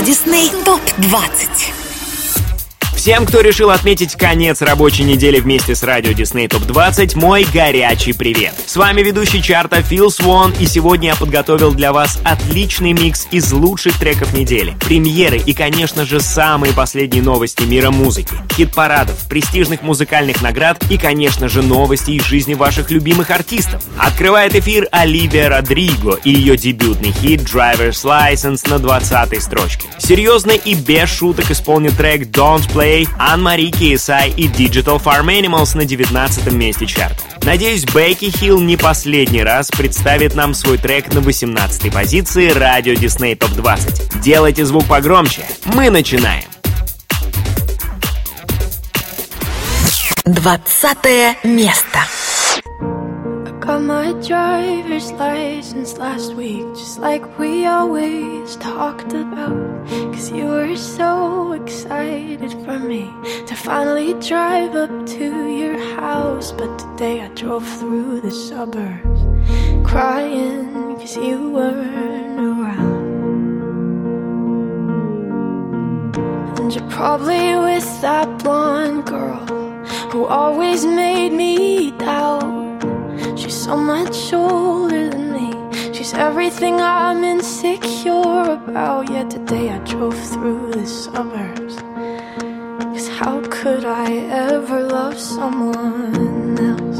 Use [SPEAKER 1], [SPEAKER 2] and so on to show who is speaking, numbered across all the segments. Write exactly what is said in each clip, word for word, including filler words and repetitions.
[SPEAKER 1] Дисней топ двадцать.
[SPEAKER 2] Всем, кто решил отметить конец рабочей недели вместе с радио Disney топ двадцать, мой горячий привет. С вами ведущий чарта Фил Свон, и сегодня я подготовил для вас отличный микс из лучших треков недели, премьеры и, конечно же, самые последние новости мира музыки, хит-парадов, престижных музыкальных наград и, конечно же, новости из жизни ваших любимых артистов. Открывает эфир Оливия Родриго и ее дебютный хит Driver's License на двадцатой строчке. Серьезно и без шуток исполнит трек Don't Play Анн-Мари Киесай и Digital Farm Animals на девятнадцатом месте чарта. Надеюсь, Бекки Хилл не последний раз представит нам свой трек на восемнадцатой позиции радио Disney топ двадцать. Делайте звук погромче. Мы начинаем.
[SPEAKER 1] Двадцатое место.
[SPEAKER 3] Got my driver's license last week, just like we always talked about. Cause you were so excited for me to finally drive up to your house. But today I drove through the suburbs crying cause you weren't around. And you're probably with that blonde girl who always made me doubt. She's so much older than me. She's everything I'm insecure about. Yet today I drove through the suburbs. Cause how could I ever love someone else?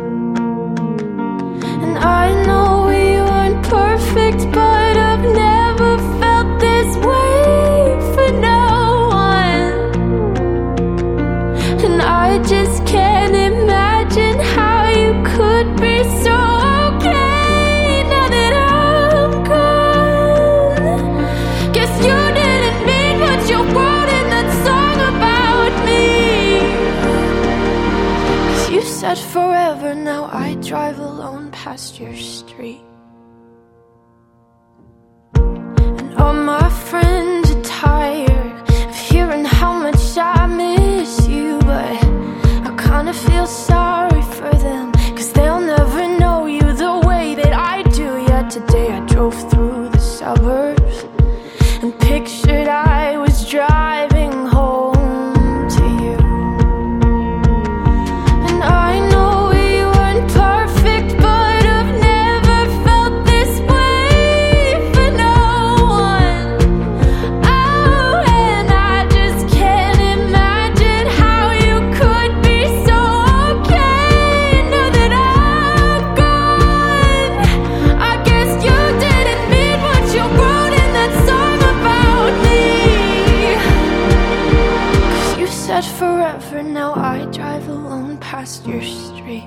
[SPEAKER 3] And I know we weren't perfect, but I've never felt this way for no one. And I just can't imagine how you could be so okay now that I'm gone. Guess you didn't mean what you wrote in that song about me. Cause you said forever, now I drive alone past your street. And all my friends are tired of hearing how much I miss you, but I kinda feel sorry for them, cause they'll never know you the way that I do. Yet today I drove through the suburbs and pictured I was driving home to you. And I know we weren't perfect, but I've never felt this way for no one. Oh, and I just can't imagine how you could be so okay now that I'm gone. I guess you didn't mean what you wrote in that song about me. Cause you said forever, now I drive alone past your street.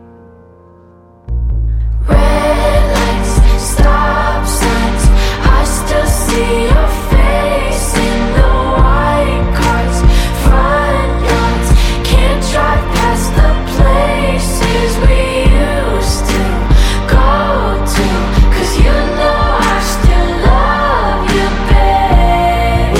[SPEAKER 3] Red lights, stop signs, I still see your face in the white cars, front yards. Can't drive past the places we used to go to. Cause you know I still love you, babe.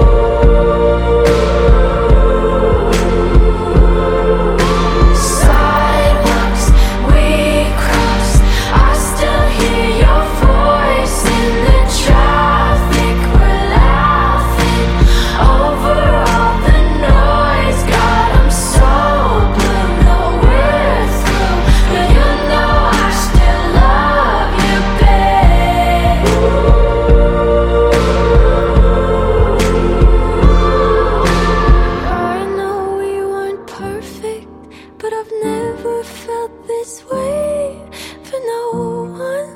[SPEAKER 3] Sidewalks we crossed, I still hear your voice in the traffic. We're laughing over all the noise. God, I'm so blue, no we're through, but you know I still love you, babe. I know we weren't perfect, but I've never felt this way for no one.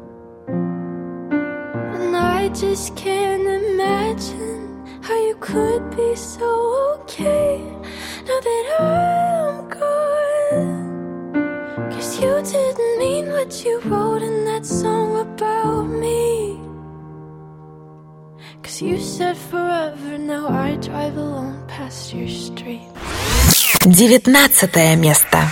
[SPEAKER 3] And I just can't imagine how you could be so okay now that I'm gone. Cause you didn't mean what you wrote in that song about me. Cause you said forever, now I drive alone past your street.
[SPEAKER 1] Девятнадцатое место.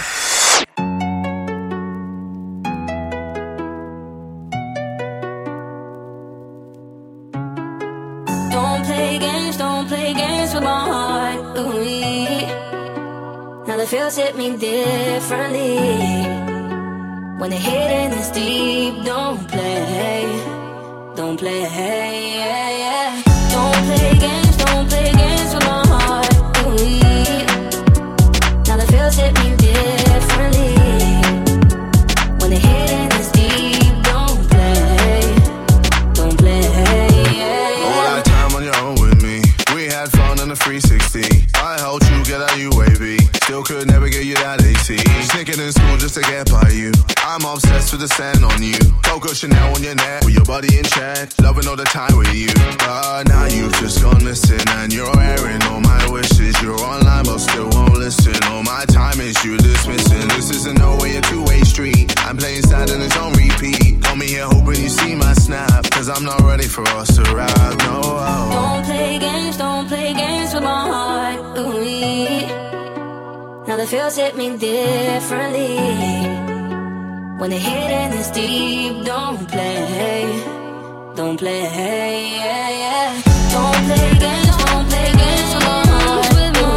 [SPEAKER 4] Don't play games, don't play games with my heart. Ooh, now the feels hit me differently. When the hidden is deep, don't play, don't play, yeah, yeah. Don't play games, don't play games with my heart. Ooh, now the feels hit me differently. When the hidden is deep, don't play, don't play.
[SPEAKER 5] All that time on your own with me, we had fun on the three sixty. I helped you get out U A V, still could never get you that A T. Sneaking in school just to get by you. I'm obsessed with the sand on you. Coco Chanel on your neck, with your body in check. Loving all the time with you. But now you've just gone missing, and you're airing all my wishes. You're online but still won't listen. All my time is you dismissing. This isn't no way a two-way street. I'm playing sad and it's on repeat. Call me here hoping you see my snap, cause I'm not ready for us to ride, no.
[SPEAKER 4] Don't play games, don't play games with my heart. Ooh, now the feels hit me differently. When the hidden is deep, don't play, don't play, yeah, yeah. Don't play games, don't play games with my heart.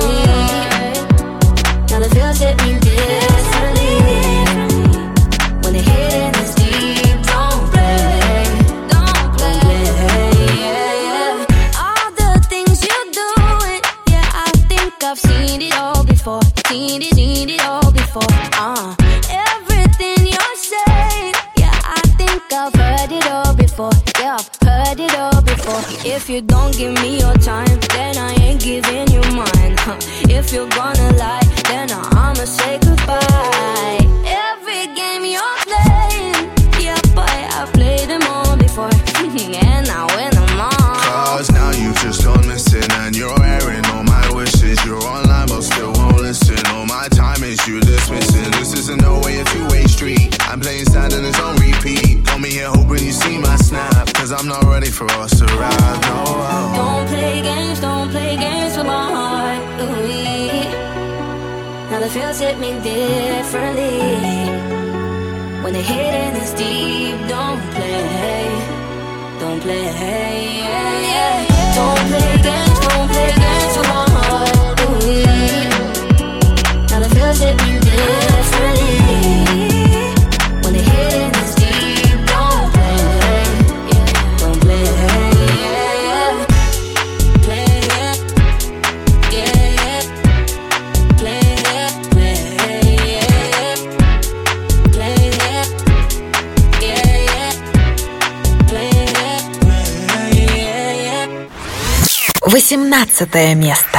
[SPEAKER 4] Ooh, now the feels hit me differently. When the hidden is deep, don't play, don't play, yeah, yeah. All the things you're doing, yeah, I think I've seen it all before. Seen it, seen it all before. Uh, everything you're saying, yeah, I think I've heard it all before. Yeah, I've heard it all before. If you don't give me your time, then I ain't giving you mine. Huh. If you're gonna lie, then I'ma say goodbye. Every game you're playing, yeah, boy, I've played them all before. And I win them all.
[SPEAKER 5] Cause now you've just gone missing, and you're airing all my wishes. You're online but still won't listen. All my time is you dismissing. This isn't no way a two-way street. I'm playing sad and it's on repeat. Call me here hoping you see my snap, cause I'm not ready for us to ride, no.
[SPEAKER 4] Don't play games, don't play games with my heart. Ooh, now the feels hit me differently. When the hidden is deep, don't play, don't play, yeah, yeah. Don't play games, don't play games with my heart. Ooh, now the feels hit me differently. When the hidden is deep, don't play, don't play, yeah, yeah. Play, yeah, yeah, yeah. Play, yeah, play, yeah, play, yeah, yeah, yeah. Play, yeah, yeah, yeah.
[SPEAKER 1] восемнадцатое место.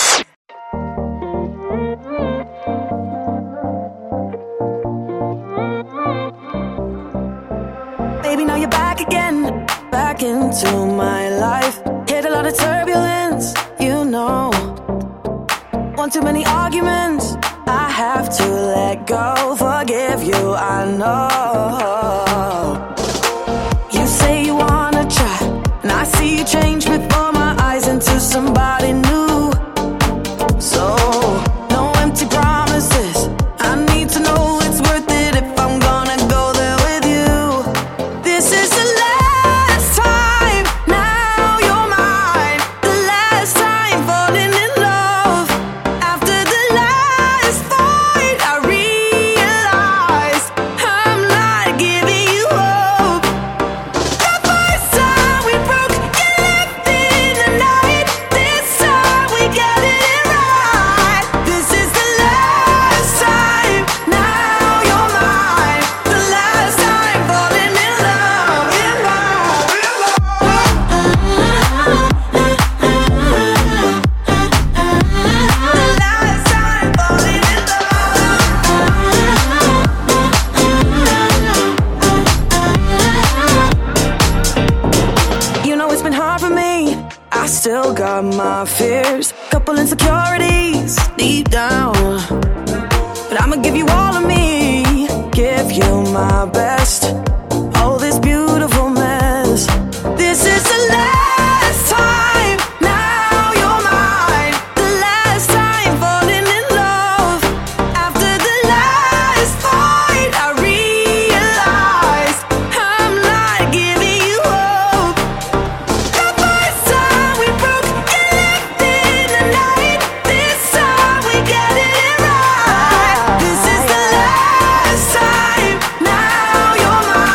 [SPEAKER 6] Baby, now you're back again, back into my life. Hit a lot of turbulence, you know. One too many arguments, I have to let go. Forgive you, I know. You say you wanna try, and I see you change before my eyes into somebody new. So, no empty promises, I need to know it's worth it if I'm gonna go there with you. This is the last time, now you're mine. The last time falling in love. After the last fight, I realized I'm not giving you hope. The first time we broke, you left in the night. This time we got it right. This is the last time, now you're mine. The last time falling in love. In love, in love. The last time falling in love. You know it's been hard for me, I still got my fears. Couple insecurities deep down, but I'ma give you all of me, give you my best. Oh, this beautiful mess. This is the last time, now you're mine. The last time falling in love. After the last fight, I realized I'm not giving you hope. The first time we broke, you left in the night. This time we got it right. This is the last time, now you're mine.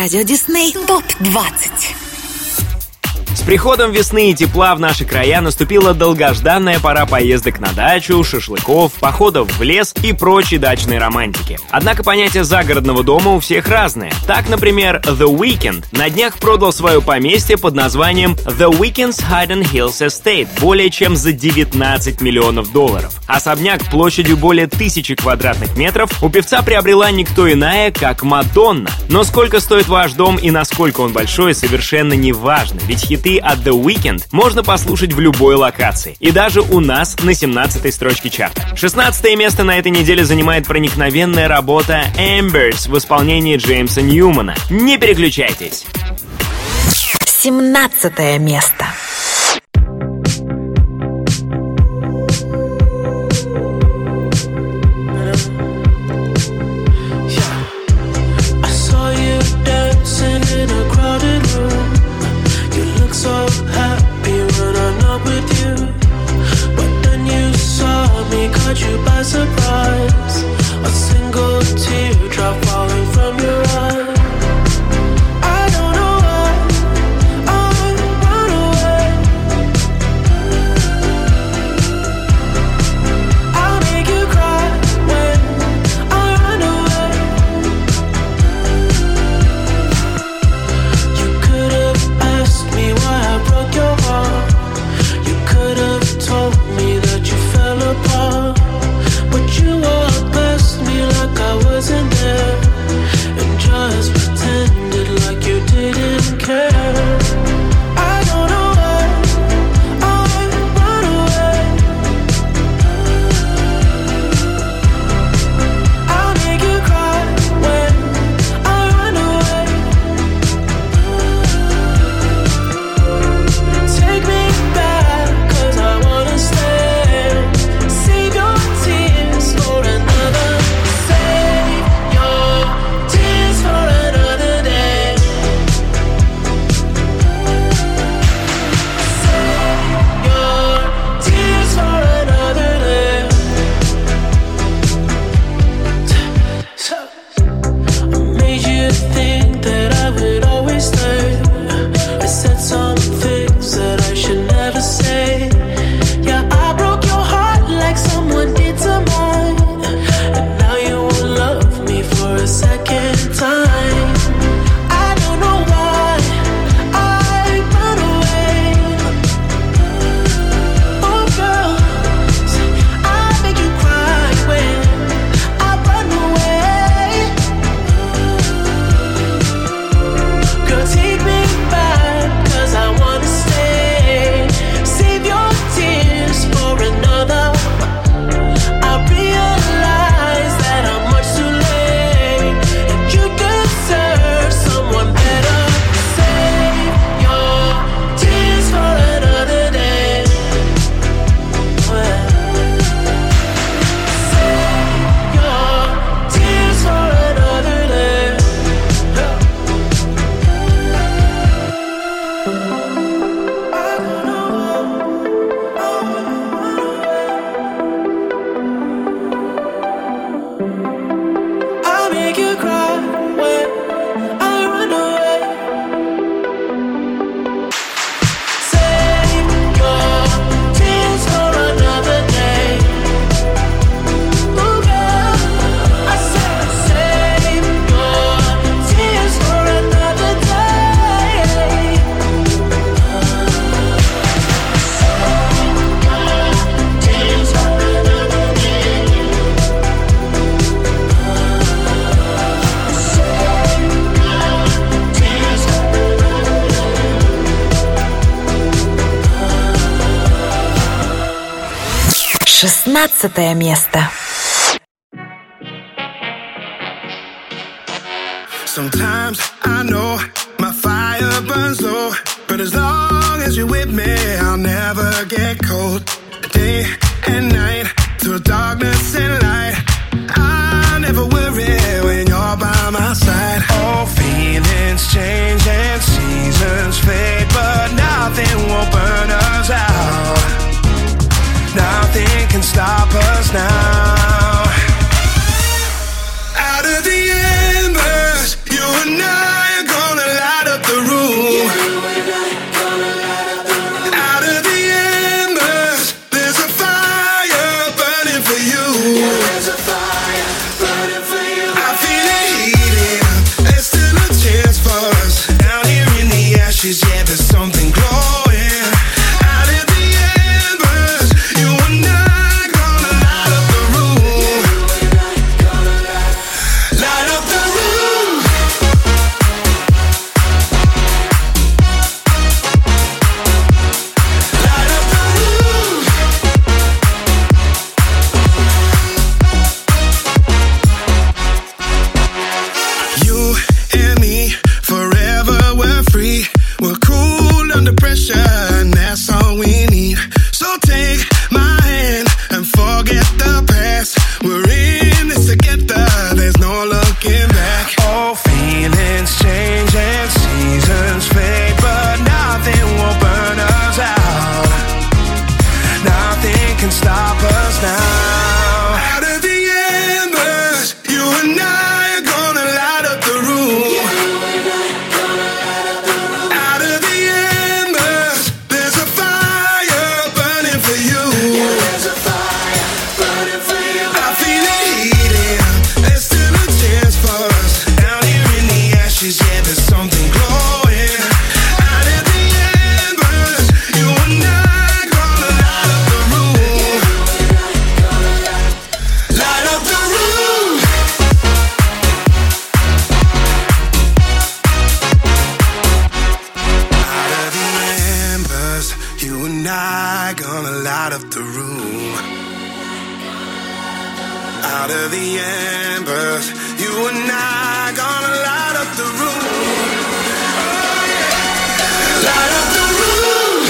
[SPEAKER 1] Радио Дисней топ двадцать.
[SPEAKER 2] С приходом весны и тепла в наши края наступила долгожданная пора поездок на дачу, шашлыков, походов в лес и прочей дачной романтики. Однако понятие загородного дома у всех разное. Так, например, The Weeknd на днях продал свое поместье под названием The Weeknd's Hidden Hills Estate более чем за девятнадцать миллионов долларов. Особняк площадью более тысячи квадратных метров у певца приобрела никто иная, как Мадонна. Но сколько стоит ваш дом и насколько он большой, совершенно не важно, ведь хиты от The Weeknd можно послушать в любой локации. И даже у нас на семнадцатой строчке чарта. шестнадцатое место на этой неделе занимает проникновенная работа Embers в исполнении Джеймса Ньюмана. Не переключайтесь.
[SPEAKER 1] семнадцатое место.
[SPEAKER 7] So happy when I'm not with you, but then you saw me, caught you by surprise. A single teardrop falling from your eye. I don't know why I run away. I'll make you cry when I run away. You could have asked me why I broke your heart. You could have told me that you fell apart, but you walked past me like I wasn't there, and just pretended like you didn't care. I don't know why I run away. I'll make you cry when I run away. Take me back, 'cause I wanna stay. Save your tears for another. Save your tears for another day. Save your tears for another day. So I made you think that I would always stay. I said some things that I should never say. Yeah, I broke your heart like someone did to mine, and now you won't love me for a second time. I don't know why I run away. Oh girl, I make you cry when I run away. Girl, take me back, 'cause I wanna stay. Save your tears for another. I realize that I'm much too late, and you deserve someone better. Save your tears for another day. Save your tears for another day. I'll make you cry when I run away. Save your tears for another day. Oh girl, I said save your tears for another day. Tears for another day.
[SPEAKER 1] шестнадцатое место.
[SPEAKER 5] Sometimes I know my fire burns low, but as long as you're with me, I'll never get cold. Day and night, through darkness and light, I never worry when you're by my side. Oh, feelings change and seasons fade, but nothing will burn us out. Nothing can stop us now. Out of the embers, you and I I gonna light up the room. Out of the embers, there's a fire burning for you. There's a fire burning for you. I feel it heating. There's still a chance for us. Down here in the ashes, yeah, there's something glowing. Out of the embers, you and I gonna light up the room. Light up the room. Light up the room. You and me, forever we're free. We're cool under pressure, and that's all we need. So take my hand and forget the past. We're in this together, there's no looking back. All feelings change and seasons fade, but nothing will burn us out. Nothing can stop us now. Out of the embers, you and I are gonna light up the room. Out of the embers, there's a fire burning for you. There's a fire burning for you. I feel it heating. There's still a chance for us. Down here in the ashes, yeah, there's something glowing. Out of the embers, you and I gonna light up the room. Light up the room. Out of the embers, you and I gonna light up the room. Out of the embers, you and I gonna light up the room. Oh, yeah. Light up the room.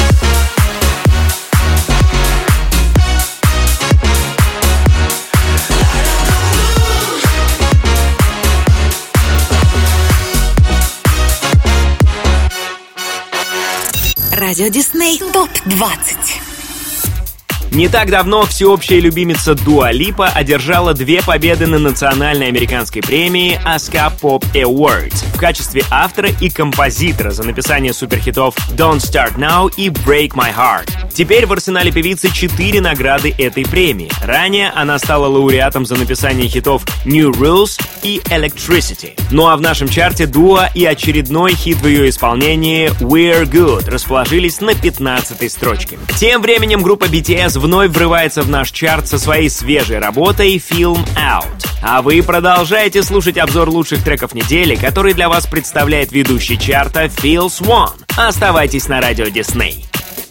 [SPEAKER 1] Радио Дисней топ двадцать.
[SPEAKER 2] Не так давно всеобщая любимица Дуа Липа одержала две победы на национальной американской премии ASCAP Pop Awards в качестве автора и композитора за написание суперхитов Don't Start Now и Break My Heart. Теперь в арсенале певицы четыре награды этой премии. Ранее она стала лауреатом за написание хитов New Rules и Electricity. Ну а в нашем чарте Дуа и очередной хит в ее исполнении We're Good расположились на пятнадцатой строчке. Тем временем группа би ти эс вновь врывается в наш чарт со своей свежей работой Film Out. А вы продолжаете слушать обзор лучших треков недели, который для вас представляет ведущий чарта Phil Swan. Оставайтесь на радио Дисней.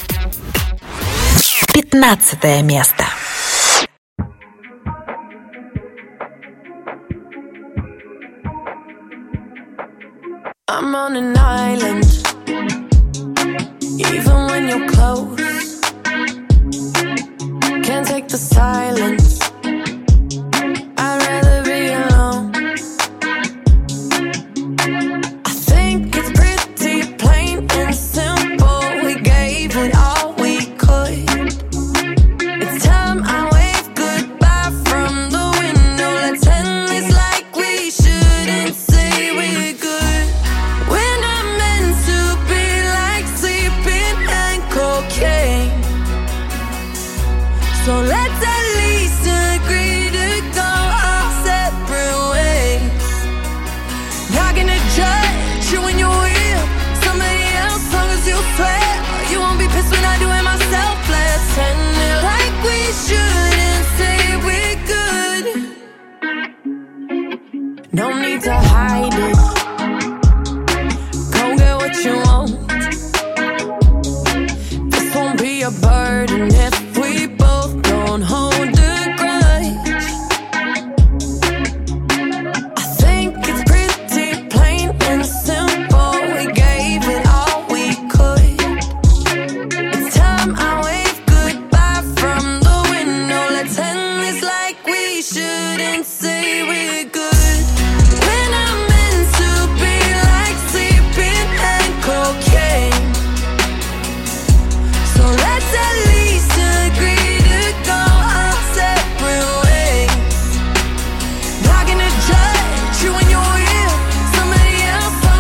[SPEAKER 1] Пятнадцатое место.
[SPEAKER 6] I'm on an island, even when you're close. Can't take the silence. I'd rather be alone. I think it's pretty plain and simple. We gave it all we could. It's time I wave goodbye from the window. Let's end this like we shouldn't say we're good. We're not meant to be like sleeping and cocaine. So let's at least agree to go our separate ways. Not gonna judge you when you're with somebody else, long as you swear you won't be pissed when I do it myself. Let's end it like we shouldn't say we're good. No need to hide it. Go get what you want. This won't be a burden if we both don't hold a grudge. I think it's pretty plain and simple. We gave it all we could. It's time I wave goodbye from the window. Let's end this like we shouldn't say we're good. We're not meant to be like sleeping and cocaine. So let's at least agree to go our separate ways. Not gonna judge you when you're with somebody else, long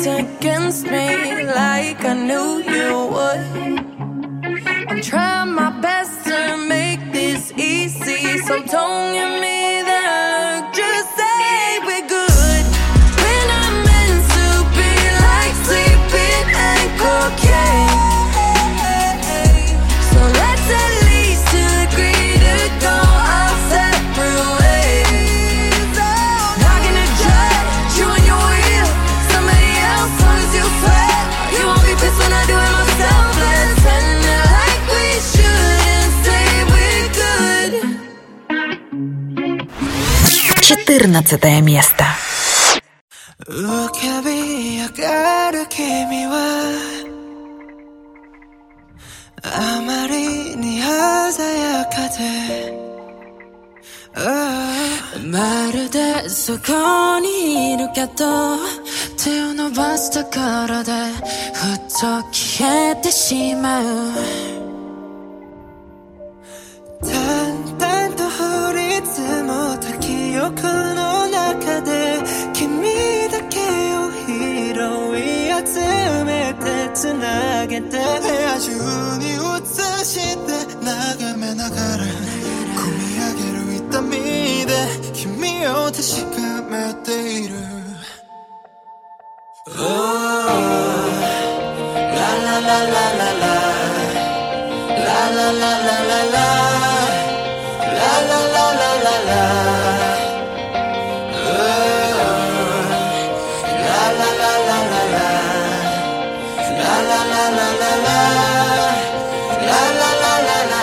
[SPEAKER 6] against me like I knew you would. I'm trying my best to make this easy, so don't give me that look, just say we're good. When I'm meant to be like sleeping and cocaine, so let's at least agree to go our separate ways. Not gonna judge you and your wheel, somebody else long as you sweat. You won't be pissed when I do it myself. Let's end it like we should and say we're good.
[SPEAKER 1] четырнадцатое место.
[SPEAKER 8] 浮かび上がる君はあまりに鮮やかで、まるでそこにいるけど手を伸ばすところでふっと消えてしまう。淡々と降り積もった記憶の中で君だけを拾い集めてつなげて部屋中に映して眺めながら込み上げる痛みで君を確かめている。 Oh, la la la la la la la la la la la la la la la la la la. Oh, la la la la la la la la la la la la la la la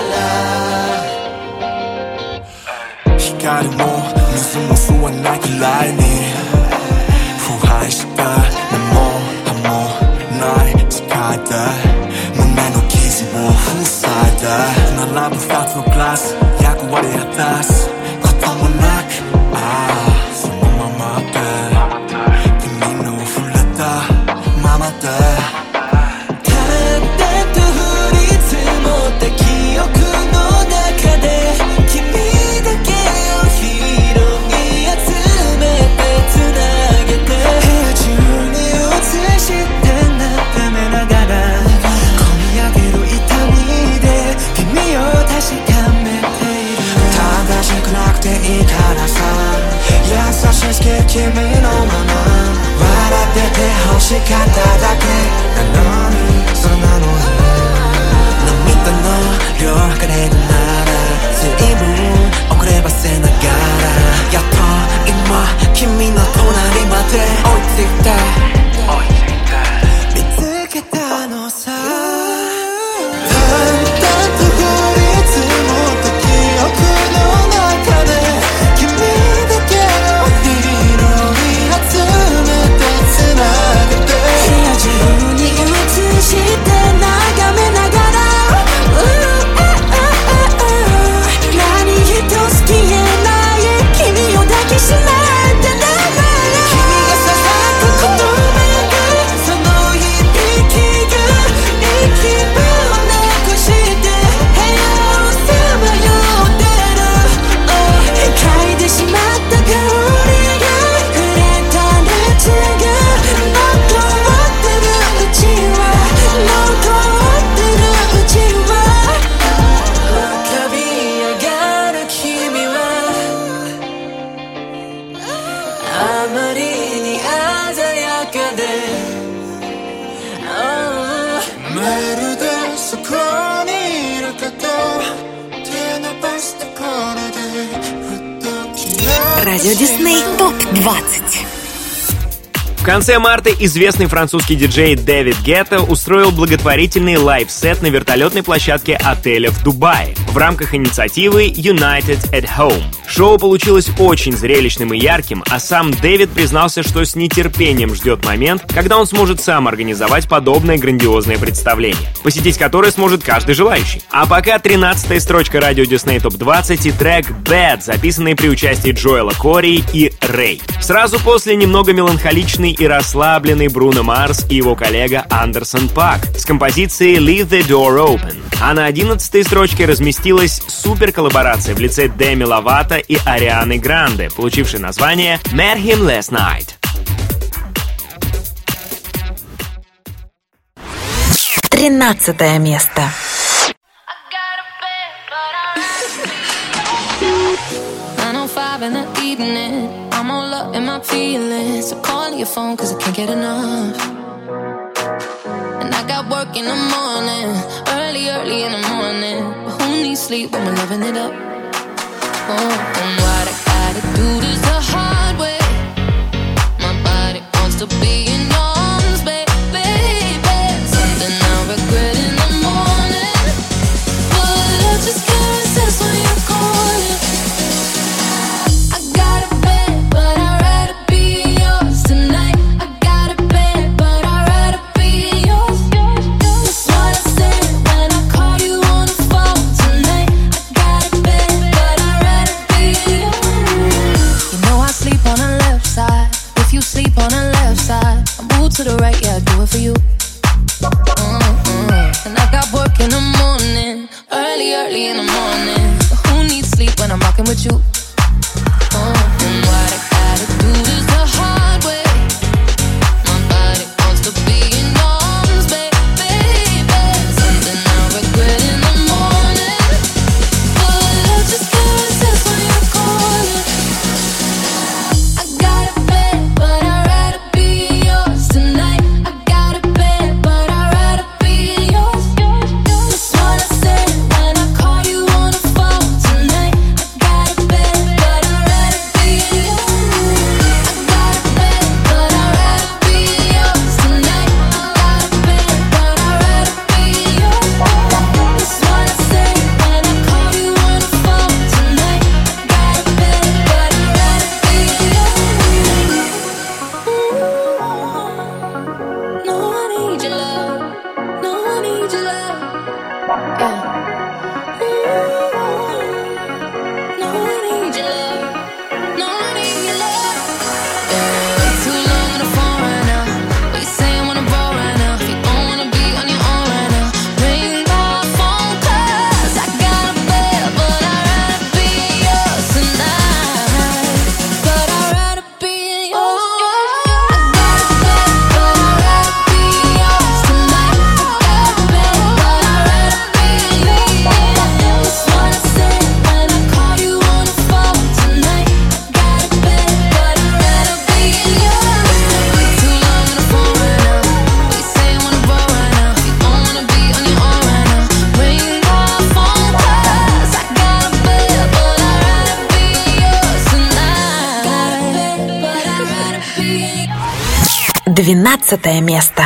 [SPEAKER 8] la la. 光も水も吸わないくらいに腐敗した根も葉もない世界で胸の傷を塞いで並ぶ二つのグラス役割果たすこともなく、ああそのままで君の触れたままで淡々と降り積もった記憶の中で君だけを拾い集めてつなげて部屋中に映して眺めながら込み上げる痛みで君を確かめている。正しくなくていいからさ優しすぎる君のまま笑ってて欲しかっただけなのにそんなの涙の量測れるなら随分遅ればせながらやっと今君の隣まで追いついた見つけたのさ。淡々と降り積もった記憶の中で君だけを拾い集めてつなげて部屋中に映して眺めながら何一つ消えない君を抱きしめてながら君がささやく言葉がその響きが息分をなくして部屋をさまよってる嗅いでしまった香りが触れた熱が残ってるうちは残ってるうちは浮かび上がる君はあまりに鮮やかで、oh、まるでそこにいるかと手伸ばすところでふっと消えて
[SPEAKER 1] Радио Дисней топ двадцать.
[SPEAKER 2] В конце марта известный французский диджей Дэвид Гетта устроил благотворительный лайв-сет на вертолетной площадке отеля в Дубае в рамках инициативы United at Home. Шоу получилось очень зрелищным и ярким, а сам Дэвид признался, что с нетерпением ждет момент, когда он сможет сам организовать подобное грандиозное представление, посетить которое сможет каждый желающий. А пока тринадцатая строчка радио Disney топ двадцать и трек Bad, записанный при участии Джоэла Кори и Рэй. Сразу после немного меланхоличный и расслабленный Бруно Марс и его коллега Андерсон Пак с композицией Leave the Door Open. А на одиннадцатой строчке разместилась суперколлаборация в лице Дэми Ловато и Арианы Гранде, получившей название Met Him Last Night.
[SPEAKER 1] тринадцатое место.
[SPEAKER 4] nine oh five in the evening, I'm all up in my feelings. So calling your phone cause I can't get enough. And I got work in the morning, early, early in the morning. But who needs sleep when we're loving it up? Oh, and what I gotta do this the hard way. My body wants to be in arms, baby. Something I regret in the morning. But I just can't resist when you're calling. I got a bed, but I'd rather be yours tonight. I got a bed, but I'd rather be yours. That's what I said when I called you on the phone tonight. I got a bed, but I'd rather be yours. You know I sleep on the left side. If you sleep on the left side, I move to the right, yeah, I do it for you. Mm-mm. And I got work in the morning, early, early in the morning. But who needs sleep when I'm rocking with you? Oh, and what I gotta do this the hard way. My body wants to be in arms, baby. Something I regret in the morning. But I just can't resist when you're calling. I got a bed, but I'd rather be yours tonight. I got a bed, but I'd rather be yours. That's what I said when I called you on the phone tonight. I got a bed, but I'd rather be yours. I got a bed, but I'd rather be yours tonight. I got a bed, but I'd rather be yours. That's what I said when I called you on the phone tonight. I got a bed, but I'd rather be yours. No, I need your love. No, I need your love. Yeah. No, I need your love. No, I need your love. Yeah. Way too long on the phone right now. What you saying when I'm bored right now? If you don't wanna be on your own right now, ring my phone 'cause I got a bed, but I'd rather be yours tonight. But I'd rather be yours. I got a bed, but I'd rather be yours tonight. I got a bed, but I'd rather be yours. That's what I said when I called you on the phone tonight. I got a bed, but I'd rather be yours. Way too long on the phone right now. What you saying when I'm bored right now? If you don't wanna be on your own right now, ring my phone 'cause I got a bed, but I'd rather be yours tonight. Got a bed, but I'd rather be yours.
[SPEAKER 1] Двенадцатое место.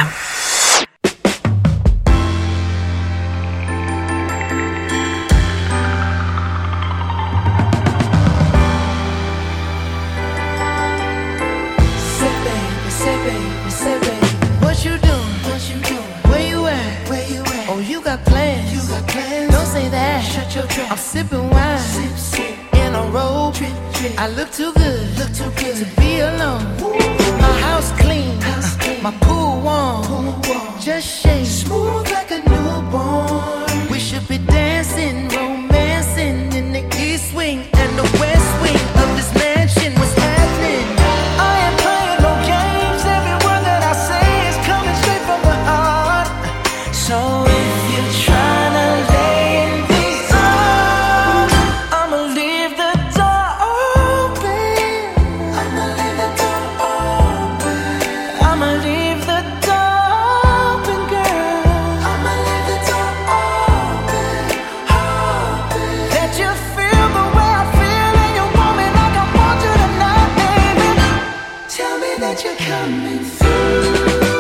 [SPEAKER 6] Say baby, say baby, say baby, what you doing? What you doing? Where you at? Where you at? Oh, you got plans? You got plans? Don't say that. Shut your trap. I'm sipping wine, sip, sip. In a robe. Drip, drip. I look too good, look too good to be alone. My house clean, house clean. My pool warm. Pool warm. Just shake smooth like a newborn. We should be dancing, romancing in the east wing and the west wing of this mansion. What's happening? I ain't playing no games. Every word that I say is coming straight from the heart. So if you're trying to lay in these arms, I'ma leave the door open. I'ma leave the door open. I'ma leave the door open, girl. I'ma leave the door open, open. That you feel the way I feel and you want me like I want you tonight, baby. Tell me that you're coming through.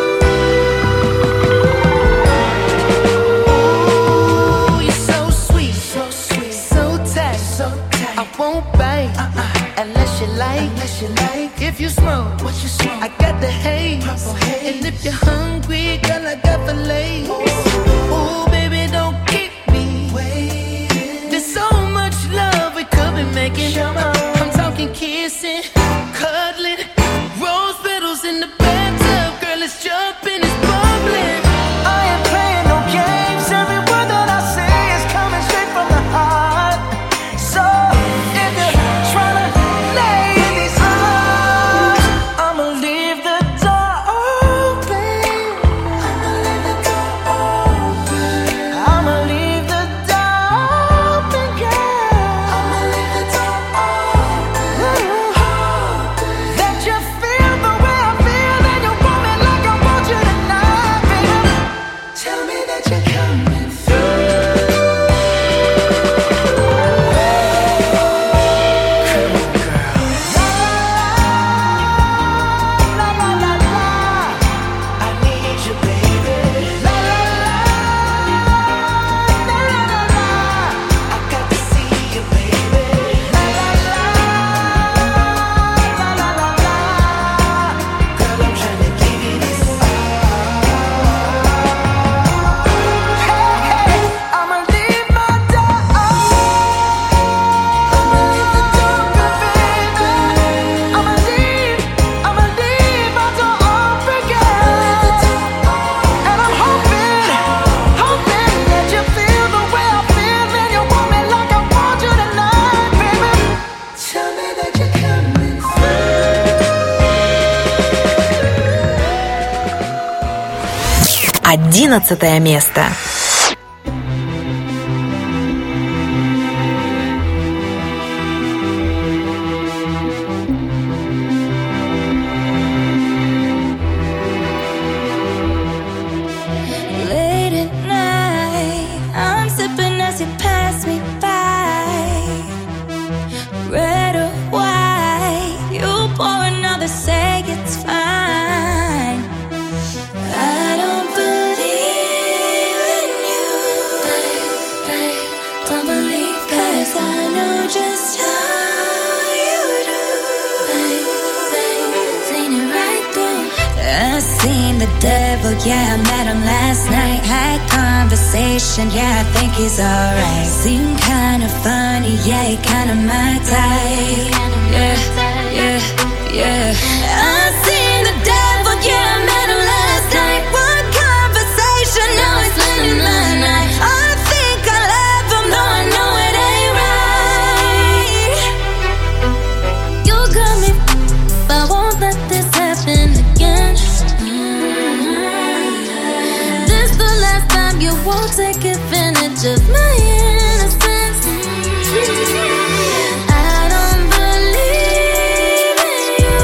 [SPEAKER 6] Ooh, you're so sweet, so sweet, so tight, so tight. I won't bite uh-uh. unless you like, unless you like. If you smoke, what you smoke? I got the haze. Purple haze. And if you're hungry, girl, I got the lace. Ooh, baby, don't keep me waiting. There's so much love we could be making. I'm talking kissing, cuddling, rose petals in the bathtub. Girl, it's jumping, it's bubbling. I ain't playing no games. Every word that I say is coming straight from the heart. So if you're trying to lay in these arms, I'ma leave the door open. I'ma leave the door open.
[SPEAKER 1] Одиннадцатое место.
[SPEAKER 4] Late at night, I'm sipping as you pass me by. Red or white, you pour another, say it's fine. I don't believe in you. Don't believe, 'cause I know just how you do. Seen it right through. I seen the devil, yeah, I met him last night. Had conversation, yeah, I think he's alright. Seemed kinda funny, yeah, he kinda my type. Yeah, yeah, yeah. I seen the devil, yeah, I met him last night. One conversation, now he's spending my night. I think I love him, though I know it ain't right. You got me, but I won't let this happen again. This the last time you won't take advantage of my innocence. I don't believe in you.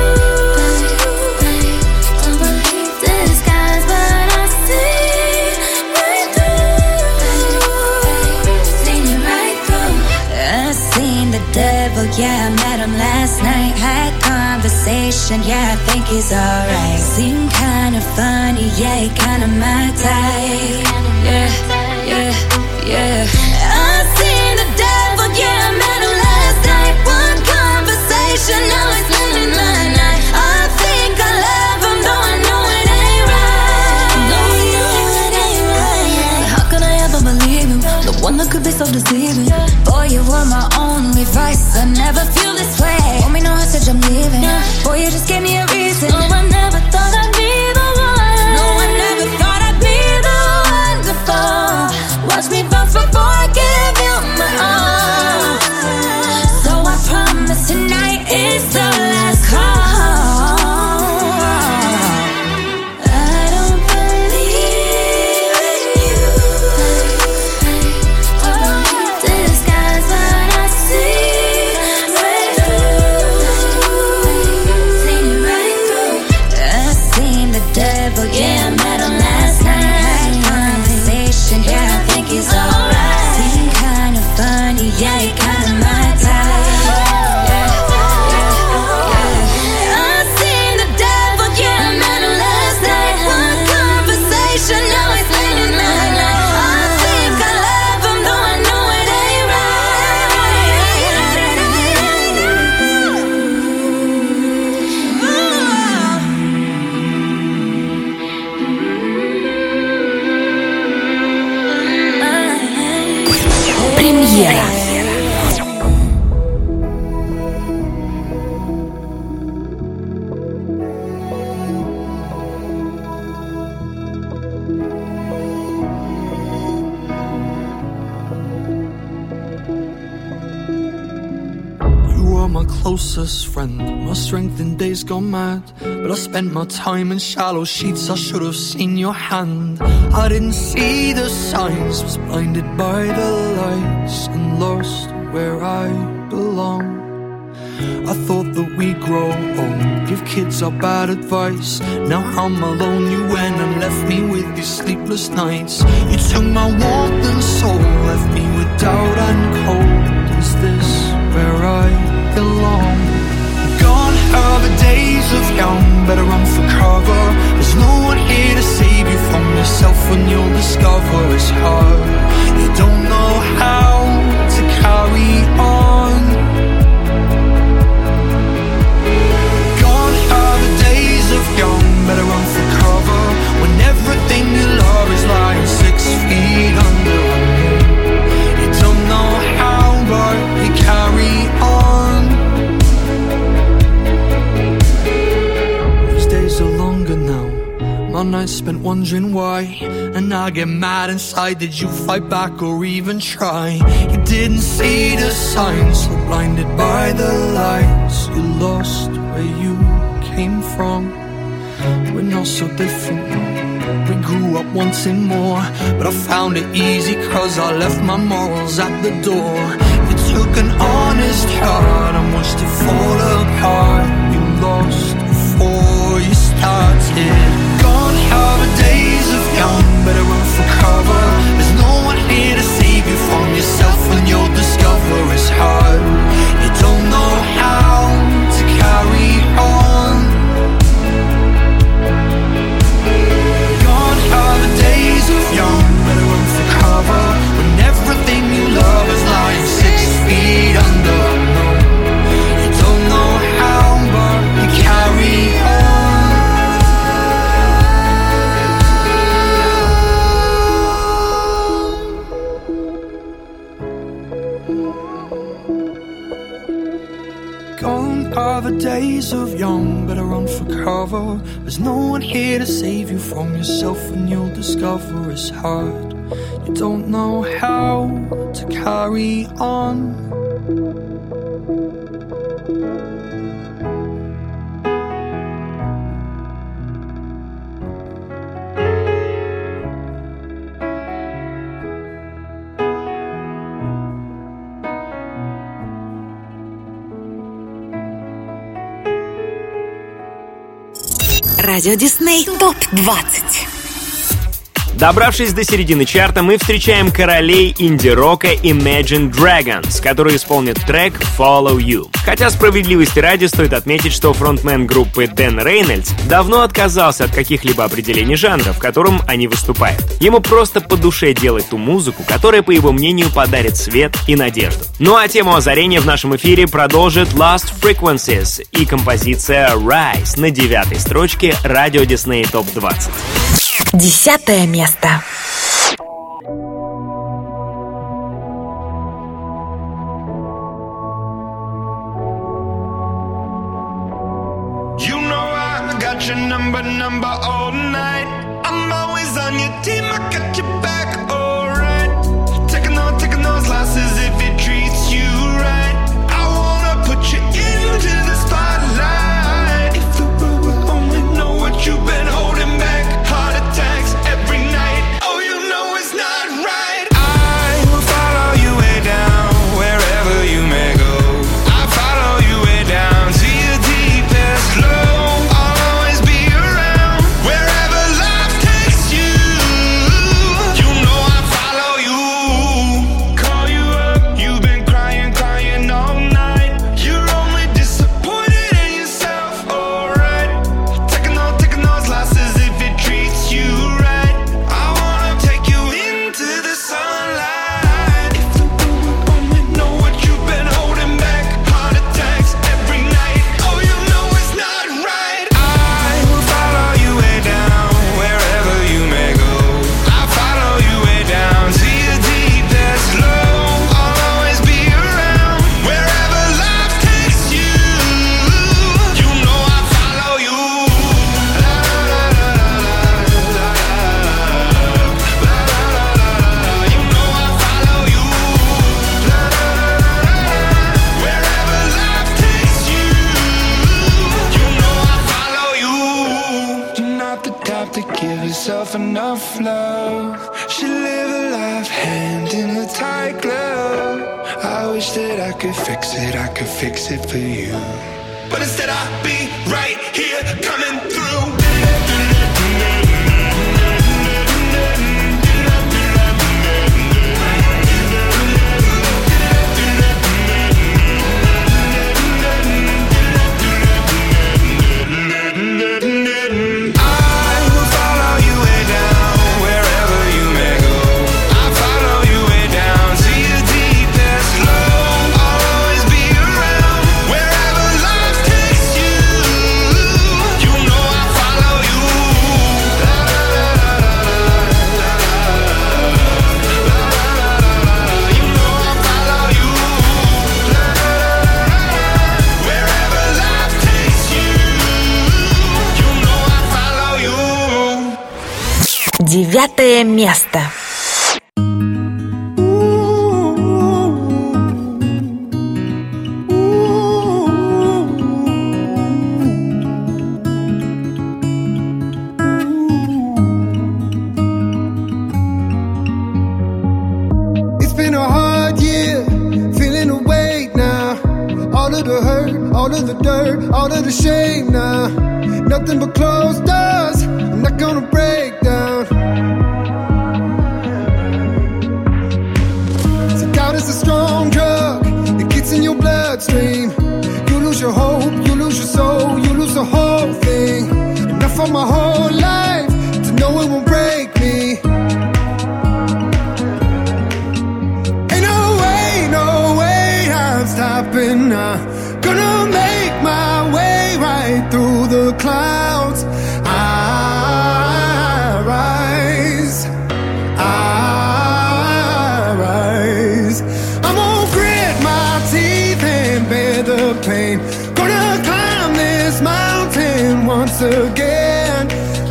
[SPEAKER 4] Don't believe disguise, but I see right through. Seen it right through. I seen the devil, yeah, I met him last night. Had conversation, yeah, I think he's alright. Seemed kinda funny, yeah, he kinda my type. Yeah, yeah, yeah. I seen the devil, yeah, I met him last night. One conversation, now he's spending my night. I think I love him, though I know it ain't right. Though I know it ain't right. How could I ever believe him? The one that could be so deceiving. Boy, you were my only vice. I never feel this way. Want me no message, I'm leaving. Boy, you just gave me a reason. No, I never thought I'd be the one. No, I never thought I'd be the one to fall. Watch me bounce before I give you my all. So I promise tonight is the last call. I don't believe in you. Disguise, but I see right through. Seen it right through. I seen the devil, yeah, I met him last night. Conversation, yeah, I think he's alright. Seemed kinda funny, yeah, he kinda my type. Yeah, yeah, yeah. I seen the devil, yeah, I met him last night. One conversation, now he's spending my night. I think I love him, though I know it ain't right.
[SPEAKER 1] Премьера.
[SPEAKER 8] You are my closest friend, my strength in days gone mad. But I spent my time in shallow sheets, I should have seen your hand. I didn't see the signs, was blinded by the lights and lost where I belong. I thought that we'd grow old, give kids our bad advice. Now I'm alone, you went and left me with these sleepless nights. You took my warmth and soul, left me with doubt and cold. Is this where I belong? Gone are the days of young, better run for cover. There's no one here to save you from yourself when you'll discover it's hard. You don't know how to carry on. Gone are the days of young, better run for cover. When everything you love is lying six feet under. You don't know how, but you carry on. These days are longer now, my nights spent wondering why. And I get mad inside, did you fight back or even try? You didn't see the signs, so blinded by the lights. You lost where you came from. We're not so different now. We grew up wanting more, but I found it easy cause I left my morals at the door. You took an honest heart and watched it fall apart. You lost before you started. Gone are the days of young, better run for cover. There's no one here to save you from yourself when you'll discover it's hard. You don't know how to carry on. Gone are the days of young, better run for cover. When everything you love is lying six feet under. No, you don't know how, but you carry on. Gone are the days of young, better run for cover. There's no one here to save you from yourself when you'll discover it's hard. You don't know how to carry on.
[SPEAKER 1] Радио Дисней топ двадцать.
[SPEAKER 2] Добравшись до середины чарта, мы встречаем королей инди-рока Imagine Dragons, которые исполнят трек Follow You. Хотя справедливости ради стоит отметить, что фронтмен группы Дэн Рейнольдс давно отказался от каких-либо определений жанра, в котором они выступают. Ему просто по душе делать ту музыку, которая, по его мнению, подарит свет и надежду. Ну а тему озарения в нашем эфире продолжит Lost Frequencies и композиция Rise на девятой строчке Радио Дисней топ двадцать.
[SPEAKER 1] Десятое место.
[SPEAKER 9] You know I got your number, number all night. I'm always on your team, I got your back, alright. Taking on, taking those losses if it treats you right. I wanna put you into the spotlight. If the world will only know what you've been holding back. Heart attacks every night. Oh, you know it's not right. I will follow you way down, wherever you may go. I follow you way down to your deepest low. I'll always be around, wherever life takes you. You know I follow you. Call you up, you've been crying, crying all night. You're only disappointed in yourself, alright. Taking on, taking those losses if it treats you right. I wanna take you into the sunlight. If the world would only know what you've been holding back. Heart attacks every night. Oh, you know it's not right. I will follow you way down, wherever you may go. I follow you way down to your deepest low. I'll always be around, wherever life takes you. You know I follow you. La la la la la la la la. You know I follow you. La la la la. Wherever life takes you. You know I follow you. You're not the type to give yourself enough love. Should live a life hand in a tight glove. I wish that I could fix it, I could fix it for you. But instead I'll be right here coming through. I will follow you way down, wherever you may go. I follow you way down to your deepest low. I'll always be around, wherever life takes you. You know I follow you. La la la la la la la. You know I follow you. La la la la. Wherever life takes you. You know I follow you.
[SPEAKER 1] Девятое место.
[SPEAKER 10] All of the dirt, all of the shame now. Nothing but closed doors. I'm not gonna break down. So doubt is a strong drug. It gets in your bloodstream. You lose your hope, you lose your soul, you lose the whole thing. Enough of my whole life to know it won't break me. Ain't no way, no way I'm stopping now. Gonna make my way right through the clouds. I rise, I rise. I'm gonna grit my teeth and bear the pain. Gonna climb this mountain once again.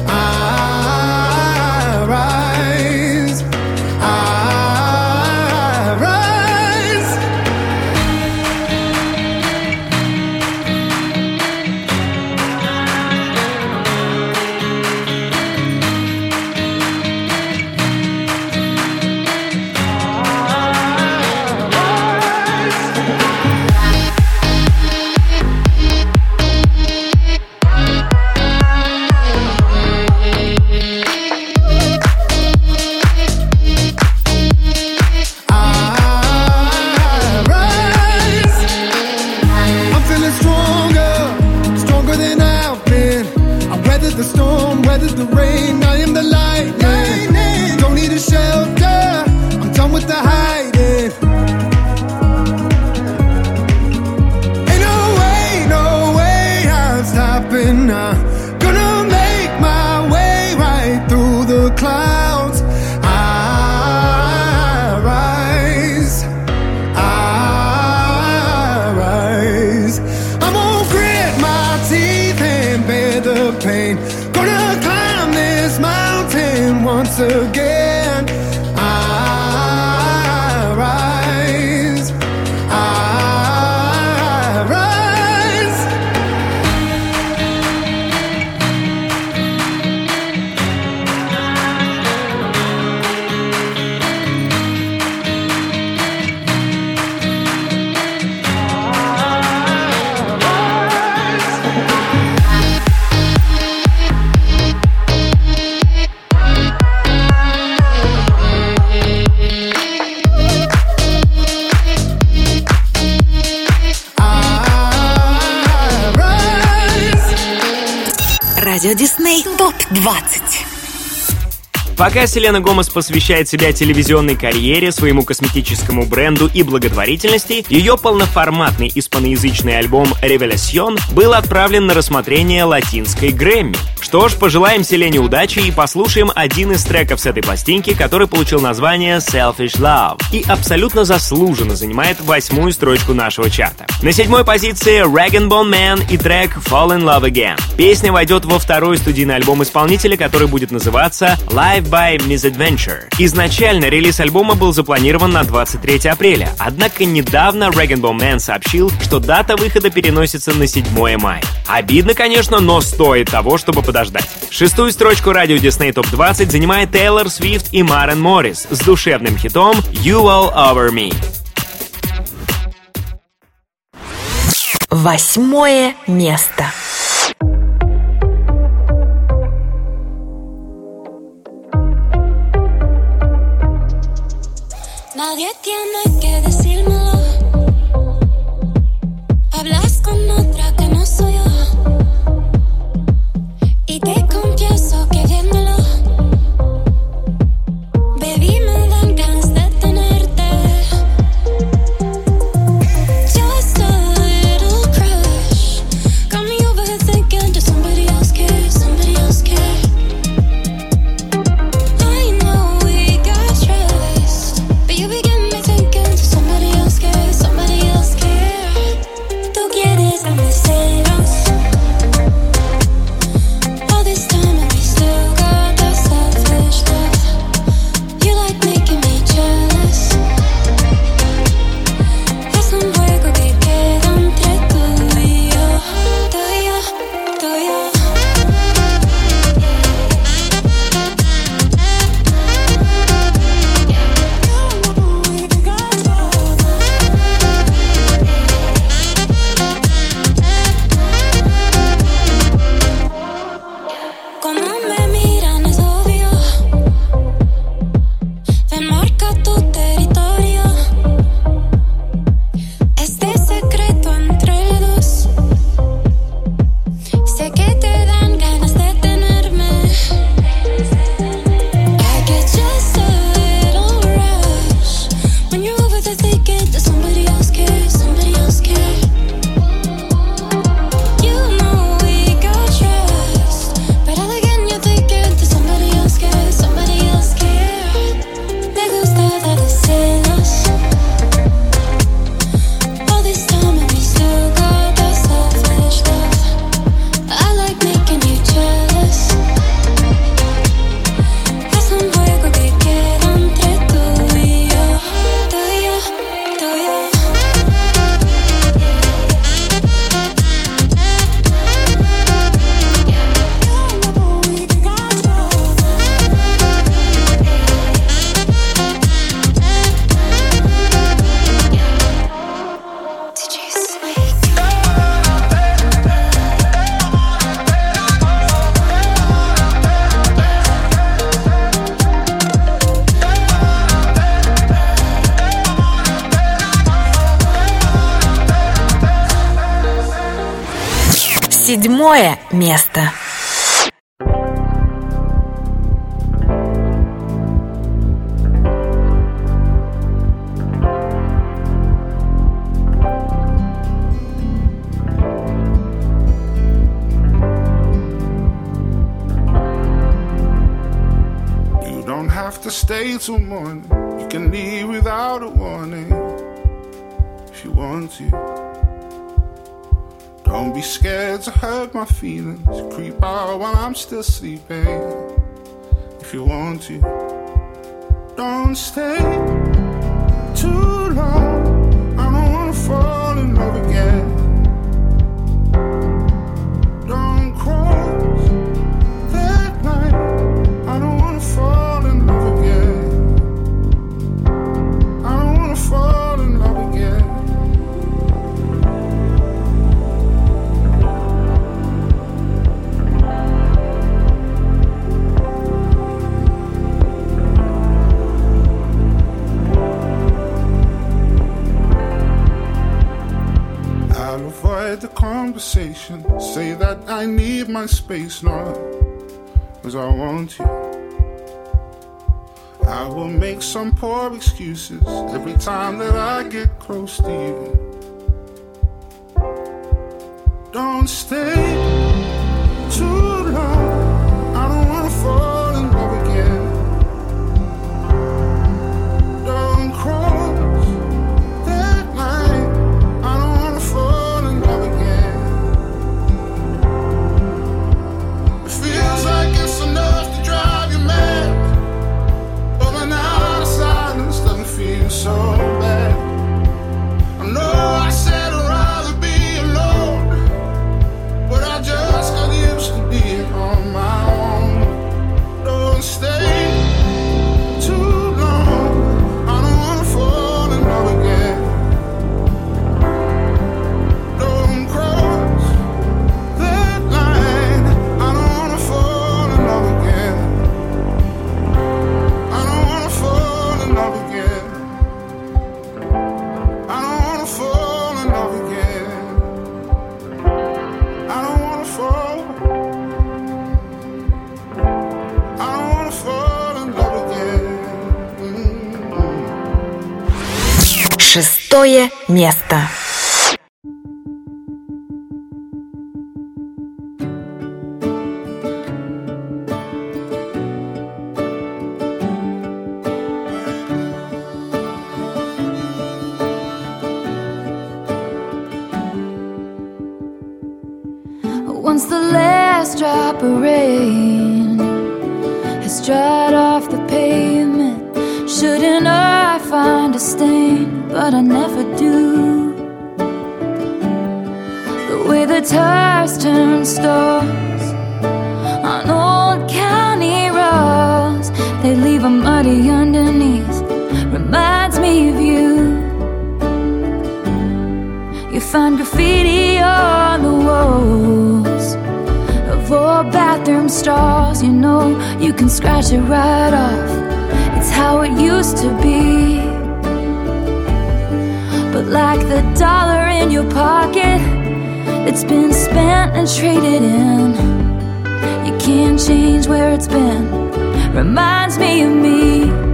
[SPEAKER 10] I rise, I rise. I'm feeling stronger, stronger than I've been. I weathered the storm, weathered the rain. I am the lightning. Don't need a shelter. I'm done with the hiding. Ain't no way, no way I'm stopping now. Gonna make my way right through the clouds. I rise, I rise. I'm gonna grit my teeth and bear the pain. Gonna climb this mountain once again. I rise, I rise.
[SPEAKER 1] Радио Дисней топ двадцать.
[SPEAKER 2] Пока Селена Гомес посвящает себя телевизионной карьере, своему косметическому бренду и благотворительности, ее полноформатный испаноязычный альбом «Revelación» был отправлен на рассмотрение латинской Грэмми. Что ж, пожелаем Селене удачи и послушаем один из треков с этой пластинки, который получил название «Selfish Love» и абсолютно заслуженно занимает восьмую строчку нашего чарта. На седьмой позиции Rag and Bone Man и трек «Fall in Love Again». Песня войдет во второй студийный альбом исполнителя, который будет называться «Live by Misadventure». Изначально релиз альбома был запланирован на двадцать третье апреля, однако недавно Rag and Bone Man сообщил, что дата выхода переносится на седьмое мая. Обидно, конечно, но стоит того, чтобы подождать. Шестую строчку радио Disney топ двадцать занимает Тейлор Свифт и Марен Моррис с душевным хитом «You All Over Me».
[SPEAKER 1] Восьмое место.
[SPEAKER 4] Nadie tiene que decírmelo. Hablas con otra que no soy yo. Y te confieso que viéndolo, baby, me dan ganas de tenerte. Just a little crush got me overthinking. Does somebody else care? Somebody else care? I know we got trust, but you begin me thinking. Does somebody else care?
[SPEAKER 1] Седьмое место.
[SPEAKER 11] To stay till morning, you can leave without a warning if you want to. Don't be scared to hurt my feelings, creep out while I'm still sleeping if you want to. Don't stay too long, I don't wanna fall in love again. Don't cross that line, I don't wanna fall in love again. I don't wanna fall in love again. I'll avoid the conversation, say that I need my space, not 'cause I want to. I will make some poor excuses every time that I get close to you. Don't stay too long, I don't wanna fall in love again. Don't cross that line, I don't wanna fall in love again. It feels like it's enough to drive you mad, feel so bad. I know I said I'd rather be alone, but I just got used to being on my own. Don't stay too long, I don't wanna fall in love again. Don't cross that line, I don't wanna fall in love again. I don't wanna fall in love again.
[SPEAKER 1] Шестое место.
[SPEAKER 3] Once the last drop of rain has dried off the pavement, shouldn't I find a stain? But I never do. The way the tires turn stars on old county roads, they leave a muddy underneath, reminds me of you. You find graffiti on the walls of old bathroom stalls. You know you can scratch it right off, it's how it used to be. But like the dollar in your pocket that's been spent and traded in, you can't change where it's been, reminds me of me.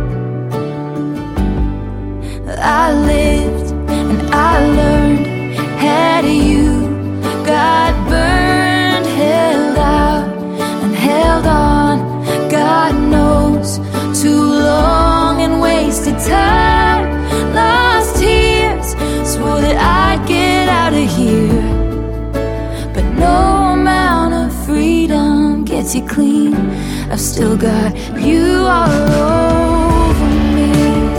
[SPEAKER 3] I lived and I learned, had you got burned, held out and held on, God knows, too long and wasted time, lost tears, swore that I'd get out of here, but no amount of freedom gets you clean. I've still got you all over me.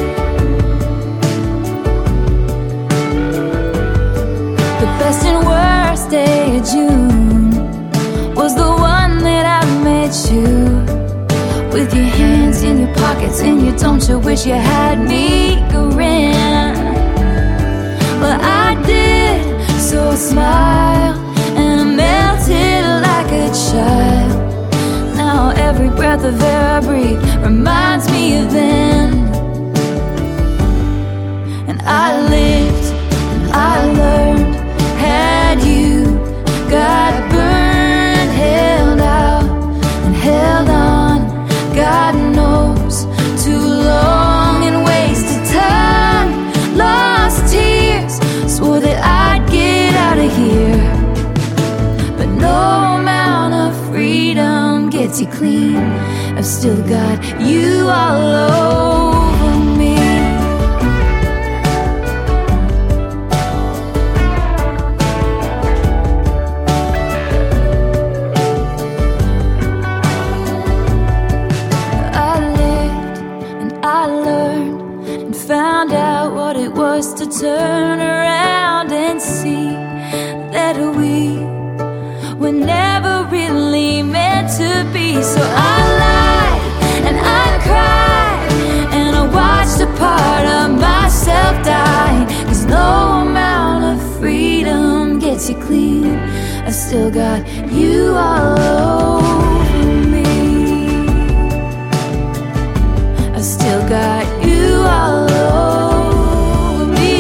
[SPEAKER 3] The best and worst day of June was the one that I met you, with your hands in your pockets and you don't you wish you had me grin. Well, I did, so I smiled and I melted like a child. Now every breath of air I breathe reminds me of then. And I lived and I learned, had you got burned, still got you all over me. I lived and I learned and found out what it was to turn around and see that we were never really meant to be. So I lied and I cried and I watched a part of myself die. 'Cause no amount of freedom gets you clean. I still got you all over me. I still got you all over me.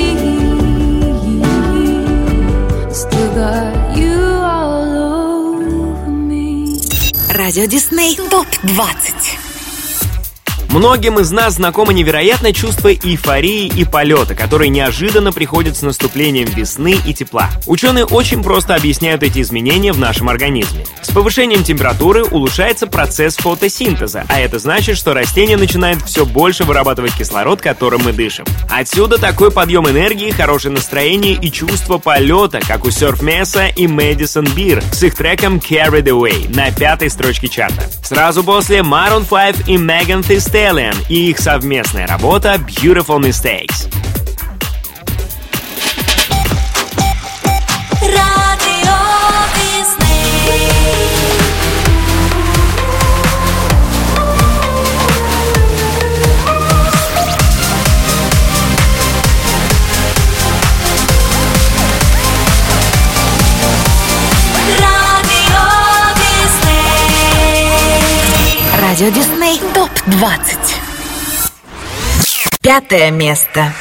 [SPEAKER 3] I still got you all over me.
[SPEAKER 1] Радио Дисней топ двадцать.
[SPEAKER 2] Многим из нас знакомо невероятное чувство эйфории и полета, которое неожиданно приходит с наступлением весны и тепла. Ученые очень просто объясняют эти изменения в нашем организме. С повышением температуры улучшается процесс фотосинтеза, а это значит, что растение начинает все больше вырабатывать кислород, которым мы дышим. Отсюда такой подъем энергии, хорошее настроение и чувство полета, как у Surf Mesa и Madison Beer с их треком Carried Away на пятой строчке чарта. Сразу после Maroon пять и Megan Thee Stallion и их совместная работа Beautiful Mistakes.
[SPEAKER 4] Radio Disney.
[SPEAKER 1] Радио Дисней топ двадцать. Пятое место.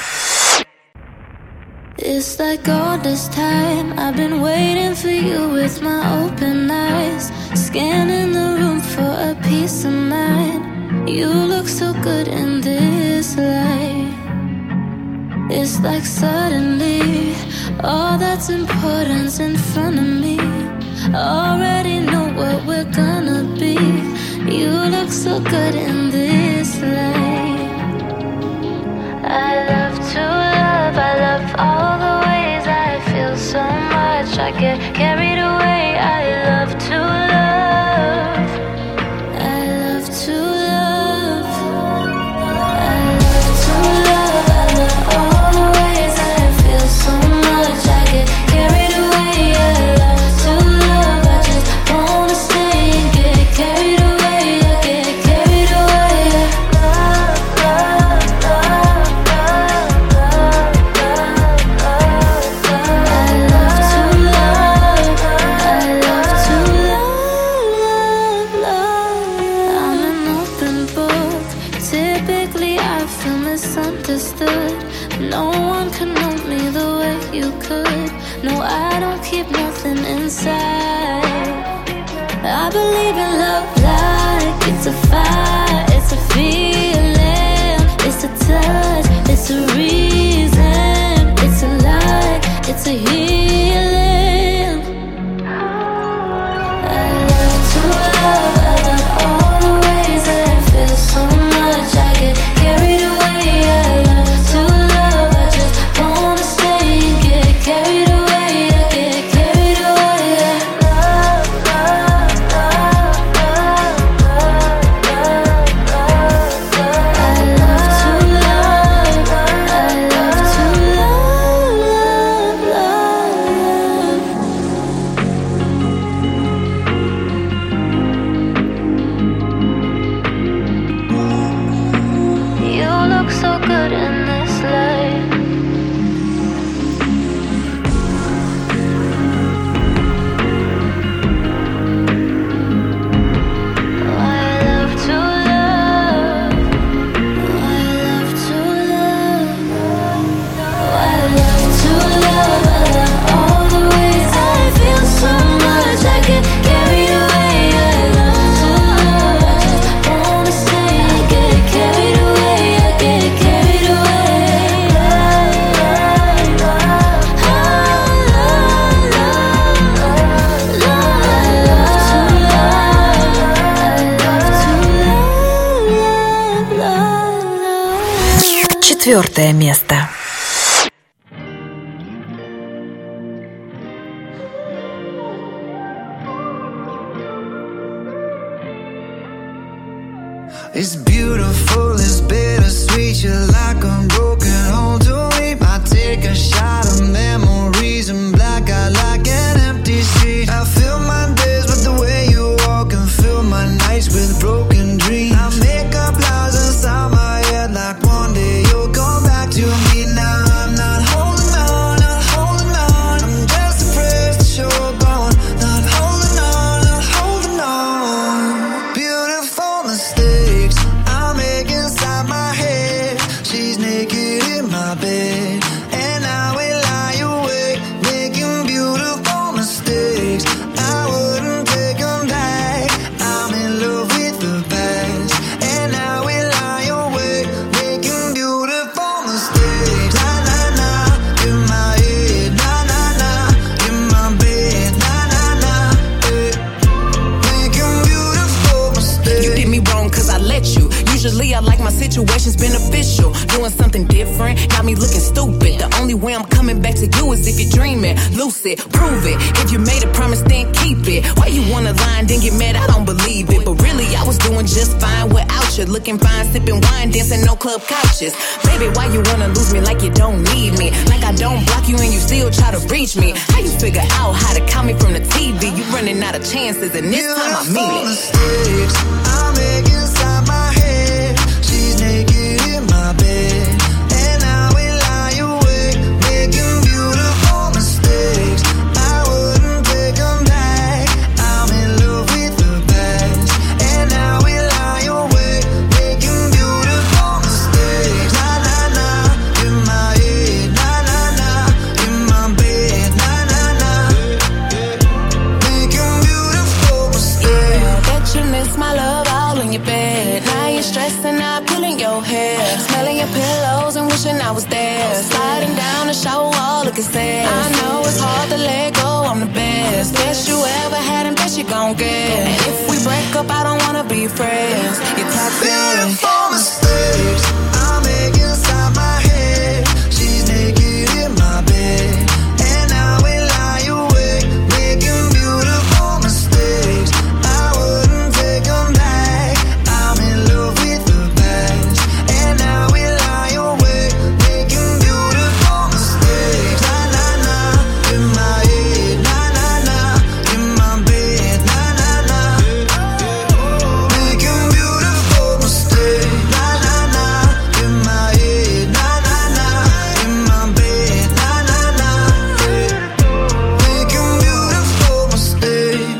[SPEAKER 3] It's like all this time I've been waiting for you with my open eyes, scanning the room for a peace of mind. You look so good in this light. It's like suddenly all that's important's in front of me. Already know what we're gonna be. You look so good in this light. I love to love, I love all the ways I feel so much. I get carried away, I love to love. I love to love. I love to love, I love all the ways I feel so much. I get carried away, I love to love. I just wanna stay and get carried away. I get carried away. Love, love, love, love, love, love, love. I love to love. I love to love, love, love. I'm an open book. Typically I feel misunderstood. No one can know me the way you could. No, I don't keep nothing inside. I believe in love like it's a fire, it's a feeling, it's a touch, it's a reason, it's a light, it's a healing. I love to love, I love all the ways I feel so much. I get carried away, I love to love. I just wanna stay and get carried away. I get carried away. Love, love, love, love, love, love,
[SPEAKER 1] Четвертое место.
[SPEAKER 12] It's beautiful, it's bittersweet. You're like a broken home to me. I take a shot of memories and black out like an empty street. I fill my days with the way you walk and fill my nights with broken dreams. I make up lies inside my head like one day you'll come back to me. Now I'm not holding on, not holding on. I'm just afraid that you're gone. Not holding on, not holding on. Beautiful mistakes I make inside my head. She's naked in my bed, and I will lie awake, making beautiful mistakes. I wouldn't take them back. I'm in love with the past, and I will lie awake, making beautiful mistakes. Na na na, in my head. Na na na, in my bed. Na na na, eh. Making beautiful mistakes.
[SPEAKER 13] You did me wrong cause I let you. Usually I like my situations beneficial. Doing something different got me looking stupid. The only way I'm coming back to you is if you're dreaming. Lucid, prove it. If you made a promise, then keep it. Why you wanna lie and then get mad? I don't believe it. But really, I was doing just fine without you. Looking fine, sipping wine, dancing no club couches. Baby, why you wanna lose me like you don't need me? Like I don't block you and you still try to reach me. How you figure out how to count me from the T V? You running out of chances and this time I mean it.
[SPEAKER 12] Mistakes I make inside my head. She's naked in my bed, and I will lie awake, making beautiful mistakes. I wouldn't take them back. I'm in love with the past, and I will lie awake, making beautiful mistakes. Na na na, in my head. Na na na, in my bed. Na na na, making beautiful mistakes.
[SPEAKER 13] Yeah, bet you miss my love all in your bed. Now you're stressing out, pulling your hair, smelling your pillows and wishing I was there. Sliding down the shower wall, looking sad. I know it's hard to let go, I'm the best. Best you ever had and best you gon' get. And if we break up, I don't wanna be friends. You're toxic.
[SPEAKER 12] Beautiful mistakes I make inside my head. She's naked in my bed, and I will lie awake, making beautiful mistakes. I wouldn't take them back. I'm in love with the past, and I will lie awake, making beautiful mistakes. Na na na, in my head. Na na na, in my bed. Na na na, making beautiful mistakes. Na na na, in my head. Na na na, in my bed. Na na na, making beautiful mistakes.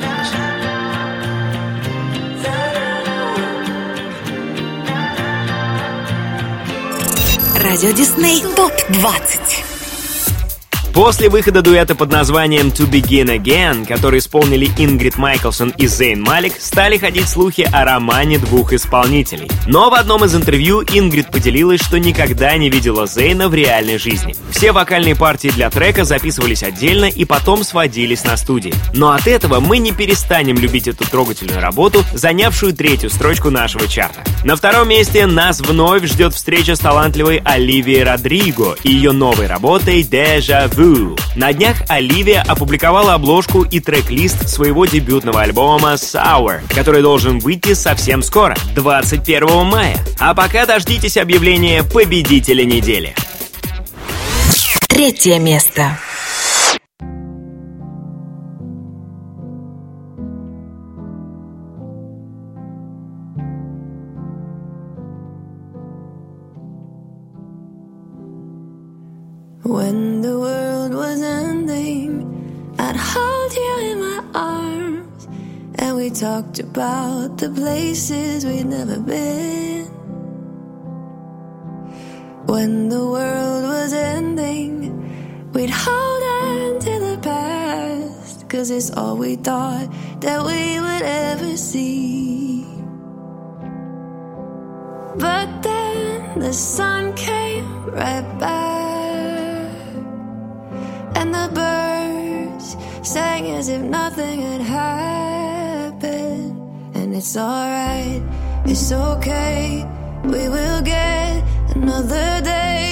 [SPEAKER 1] Радио Дисней топ двадцать.
[SPEAKER 2] После выхода дуэта под названием «To Begin Again», который исполнили Ингрид Майклсон и Зейн Малик, стали ходить слухи о романе двух исполнителей. Но в одном из интервью Ингрид поделилась, что никогда не видела Зейна в реальной жизни. Все вокальные партии для трека записывались отдельно и потом сводились на студии. Но от этого мы не перестанем любить эту трогательную работу, занявшую третью строчку нашего чарта. На втором месте нас вновь ждет встреча с талантливой Оливией Родриго и ее новой работой «Déjà Vu». На днях Оливия опубликовала обложку и трек-лист своего дебютного альбома «Sour», который должен выйти совсем скоро, двадцать первого мая. А пока дождитесь объявления победителя недели.
[SPEAKER 1] Третье место.
[SPEAKER 4] When the world was ending, I'd hold you in my arms, and we talked about the places we'd never been. When the world was ending, we'd hold on to the past, 'cause it's all we thought that we would ever see. But then the sun came right back, and the birds sang as if nothing had happened. And it's alright, it's okay, we will get another day.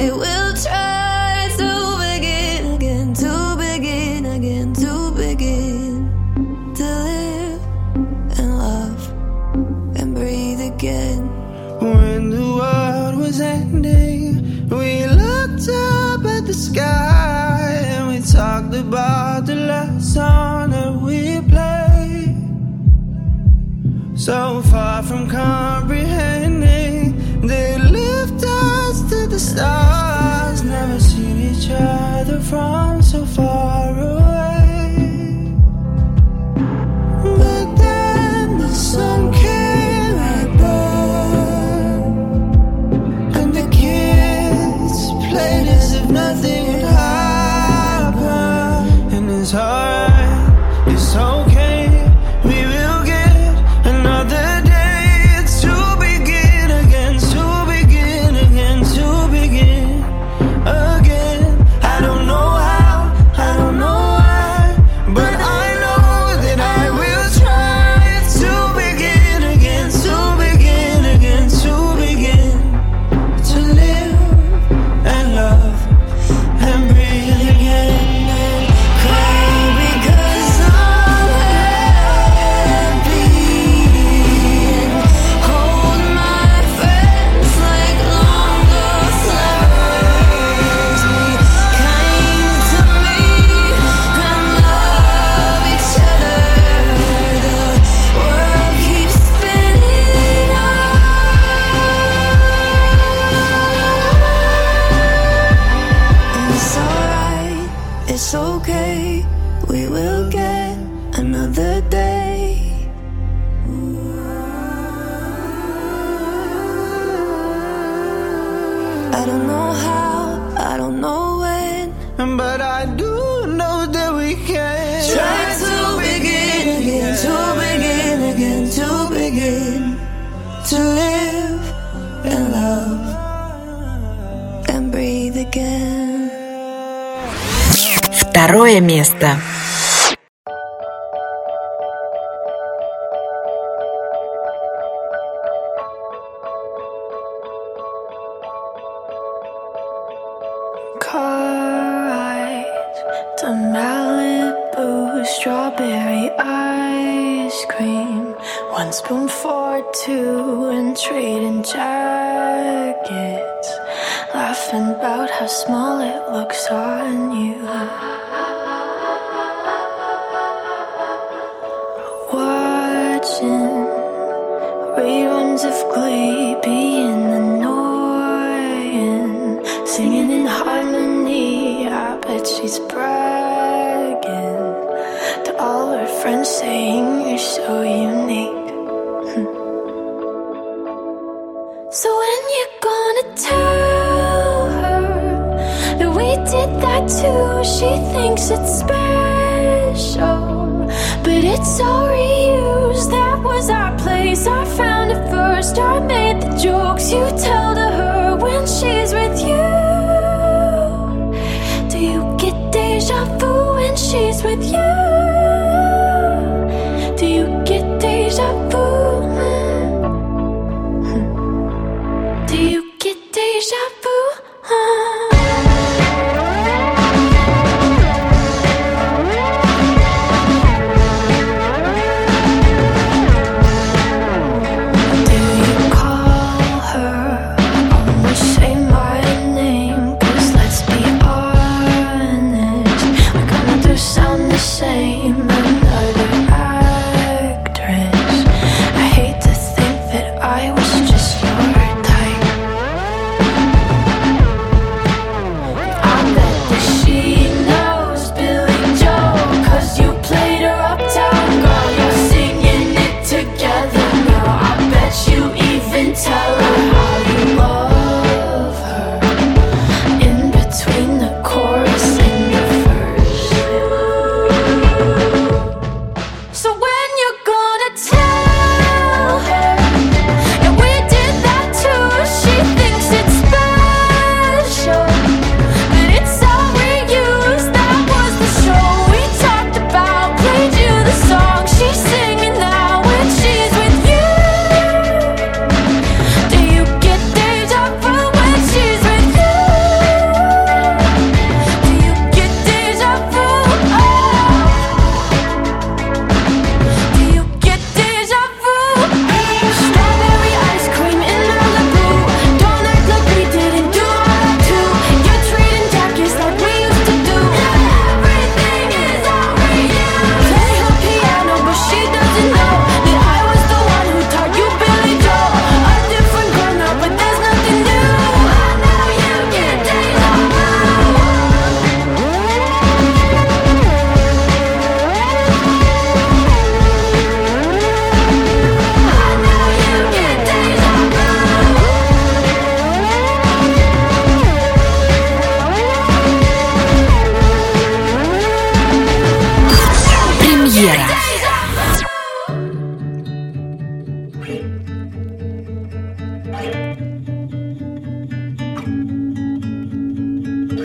[SPEAKER 4] I will try to begin again, to begin again, to begin to live and love and breathe again.
[SPEAKER 14] When the world was ending, we looked up at the sky and we talked about the last song that we played. So far from comprehending, they lift us to the stars. Never seen each other from so far away. But then the sun came right back, and the kids played as if nothing would happen. And it's alright, it's okay, we will get another day to begin again, to begin again, to begin again. I don't know how, I don't know why, but I know that I will try to begin again, to begin again, to begin to live and love and breathe again.
[SPEAKER 4] Cry because I'm happy, and hold my friends like longer flowers. Be kind to me and love each other. The world keeps spinning on. It's alright, it's okay, we will get another day. I don't know how, I don't know when,
[SPEAKER 14] But I do know that we can
[SPEAKER 4] try to begin again, to begin again, to begin to live and love and breathe again.
[SPEAKER 1] Второе место.
[SPEAKER 3] Car ride to Malibu, strawberry ice cream, one spoon for two, and trading jackets, laughing about how small it looks on you. Watching reruns of Glee, being annoying, singing in harmony. I bet she's bragging to all her friends, saying you're so unique. So when you gonna tell her that we did that too? She thinks it's special, but it's all reused. That was our place, I found it first. I made the jokes you tell to her when she's with you. Do you get deja vu when she's with you? Do you get deja vu? Do you get deja vu? Do you call her? Almost say my name, 'cause let's be honest, we're gonna do sound the same.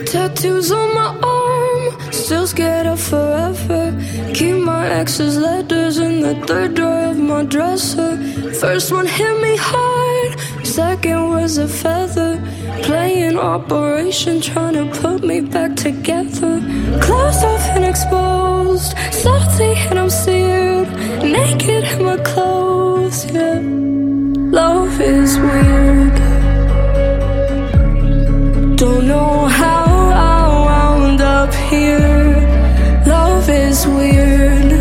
[SPEAKER 3] Tattoos on my arm, still scared of forever. Keep my ex's letters in the third drawer of my dresser. First one hit me hard, second was a feather. Playing Operation, trying to put me back together. Closed off and exposed, salty and I'm seared. Naked in my clothes, yeah. Love is weird. Don't know how I wound up here. Love is weird.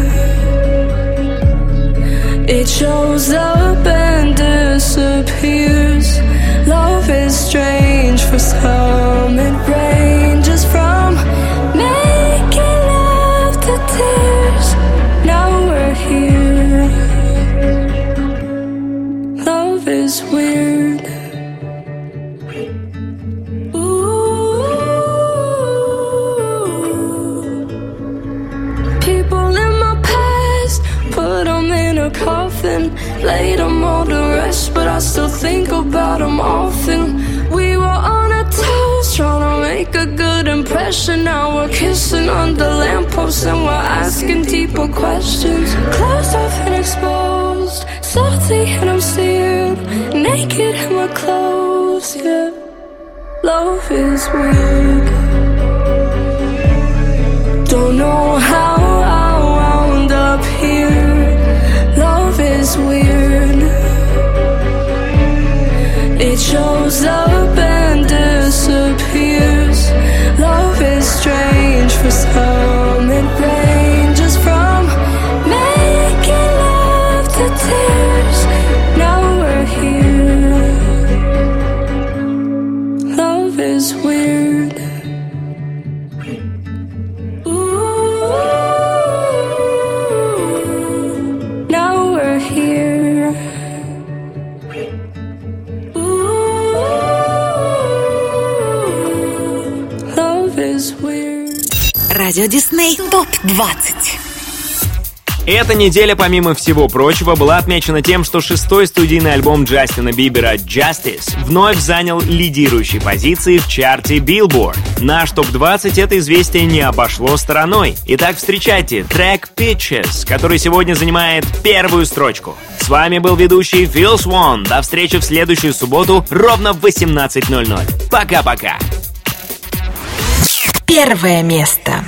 [SPEAKER 3] It shows up and disappears. Love is strange. For some it ranges from making love to tears. Now we're here. Love is weird. Coffin, laid them all to rest, but I still think about them often. We were on a toast, trying to make a good impression. Now we're kissing under lampposts and we're asking deeper questions. Closed off and exposed, salty and I'm seared. Naked in my clothes, yeah. Love is weird. Don't know how I wound up here. Love is weird. It shows up and disappears. Love is strange. For some it ranges from making love to tears. Now we're here. Love is weird.
[SPEAKER 1] Радио Дисней топ двадцать.
[SPEAKER 2] Эта неделя, помимо всего прочего, была отмечена тем, что шестой студийный альбом Джастина Бибера «Justice» вновь занял лидирующие позиции в чарте Billboard. Наш топ двадцать это известие не обошло стороной. Итак, встречайте трек «Peaches», который сегодня занимает первую строчку. С вами был ведущий Phil Swan. До встречи в следующую субботу ровно в восемнадцать ноль ноль. Пока-пока.
[SPEAKER 1] Первое место.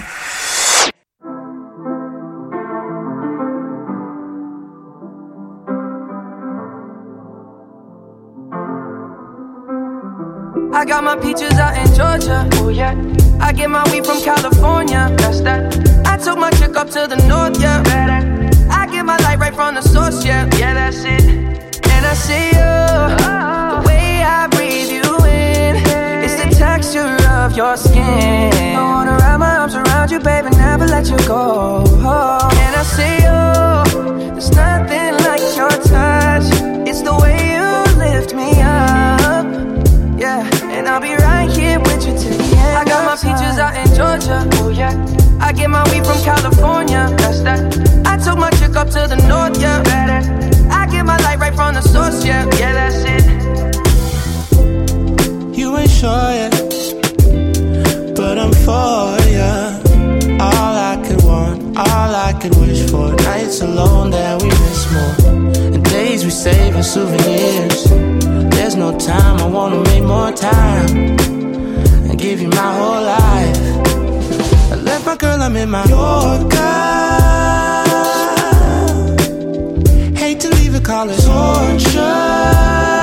[SPEAKER 6] I got my peaches out in Georgia, oh yeah. I get my weed from California, that's that. I took my chick up to the north, yeah. I get my light right from the source, yeah. Yeah, that's it. And I see you, the way I breathe you in, it's the texture of your skin. I wanna wrap my arms around you, baby, never let you go. And I see you, there's nothing like your touch. It's the way you lift me up, yeah. And I'll be right here with you till the end. I got my peaches out in Georgia, oh yeah. I get my weed from California, that's that. I took my chick up to the north, yeah. I get my light right from the source, yeah. Yeah, that's it.
[SPEAKER 7] You ain't sure yet, but I'm for ya. All I could want, all I could wish for. Nights alone that we miss more, and days we save as souvenirs. There's no time, I wanna make more time and give you my whole life. I left my girl, I'm in my Yorker. Hate to leave it, call it torture.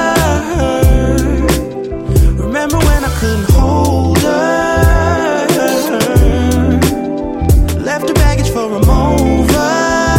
[SPEAKER 7] Remember when I couldn't hold her? Left her baggage for a mover.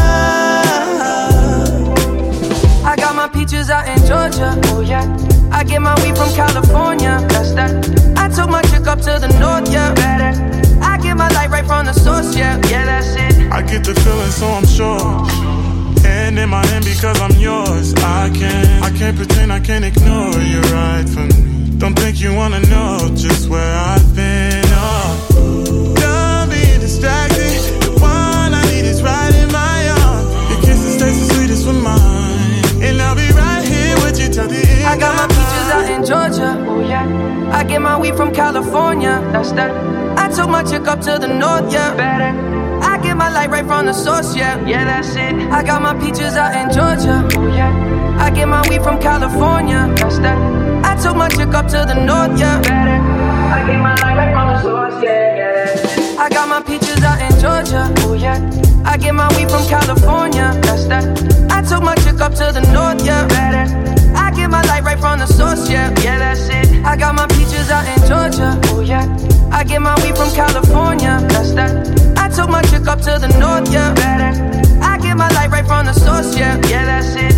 [SPEAKER 6] I got my peaches out in Georgia, oh yeah. I get my weed from California, that's that. I took my chick up to the north, yeah. I get my light right from the source, yeah. Yeah, that's it.
[SPEAKER 15] I get the feeling, so I'm sure. And in my hand because I'm yours. I can't, I can't pretend, I can't ignore you right from me. Don't think you wanna know just where I've been. Oh, don't be distracted. The one I need is right in my arms. Your kisses taste the sweetest with mine, and I'll be right here with you till the end.
[SPEAKER 6] I got my peaches out in Georgia, oh yeah. I get my weed from California. That's that. I took my chick up to the north, yeah. Better. I get my light right from the source, yeah. Yeah, that's it. I got my peaches out in Georgia. Oh yeah. I get my weed from California. That's that. I took my chick up to the north, yeah. Better. I get my light right from the source, yeah, yeah, that's it. I got my peaches out in Georgia. Oh yeah. I get my weed from California. That's that. I took my chick up to the north, yeah. Better. I get my light right from the source, yeah. Yeah, that's it. I got my peaches out in Georgia. Oh yeah. I get my weed from California. That's that. I took my chick up to the north, yeah. Better. I get my light right from the source, yeah. Yeah, that's it.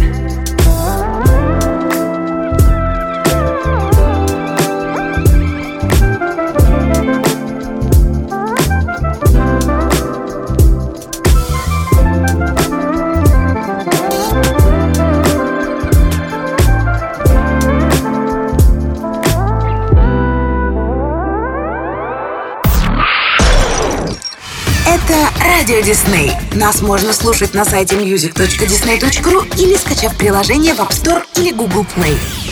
[SPEAKER 1] Это Радио Дисней. Нас можно слушать на сайте мьюзик точка дисней точка ру или скачав приложение в App Store или Google Play.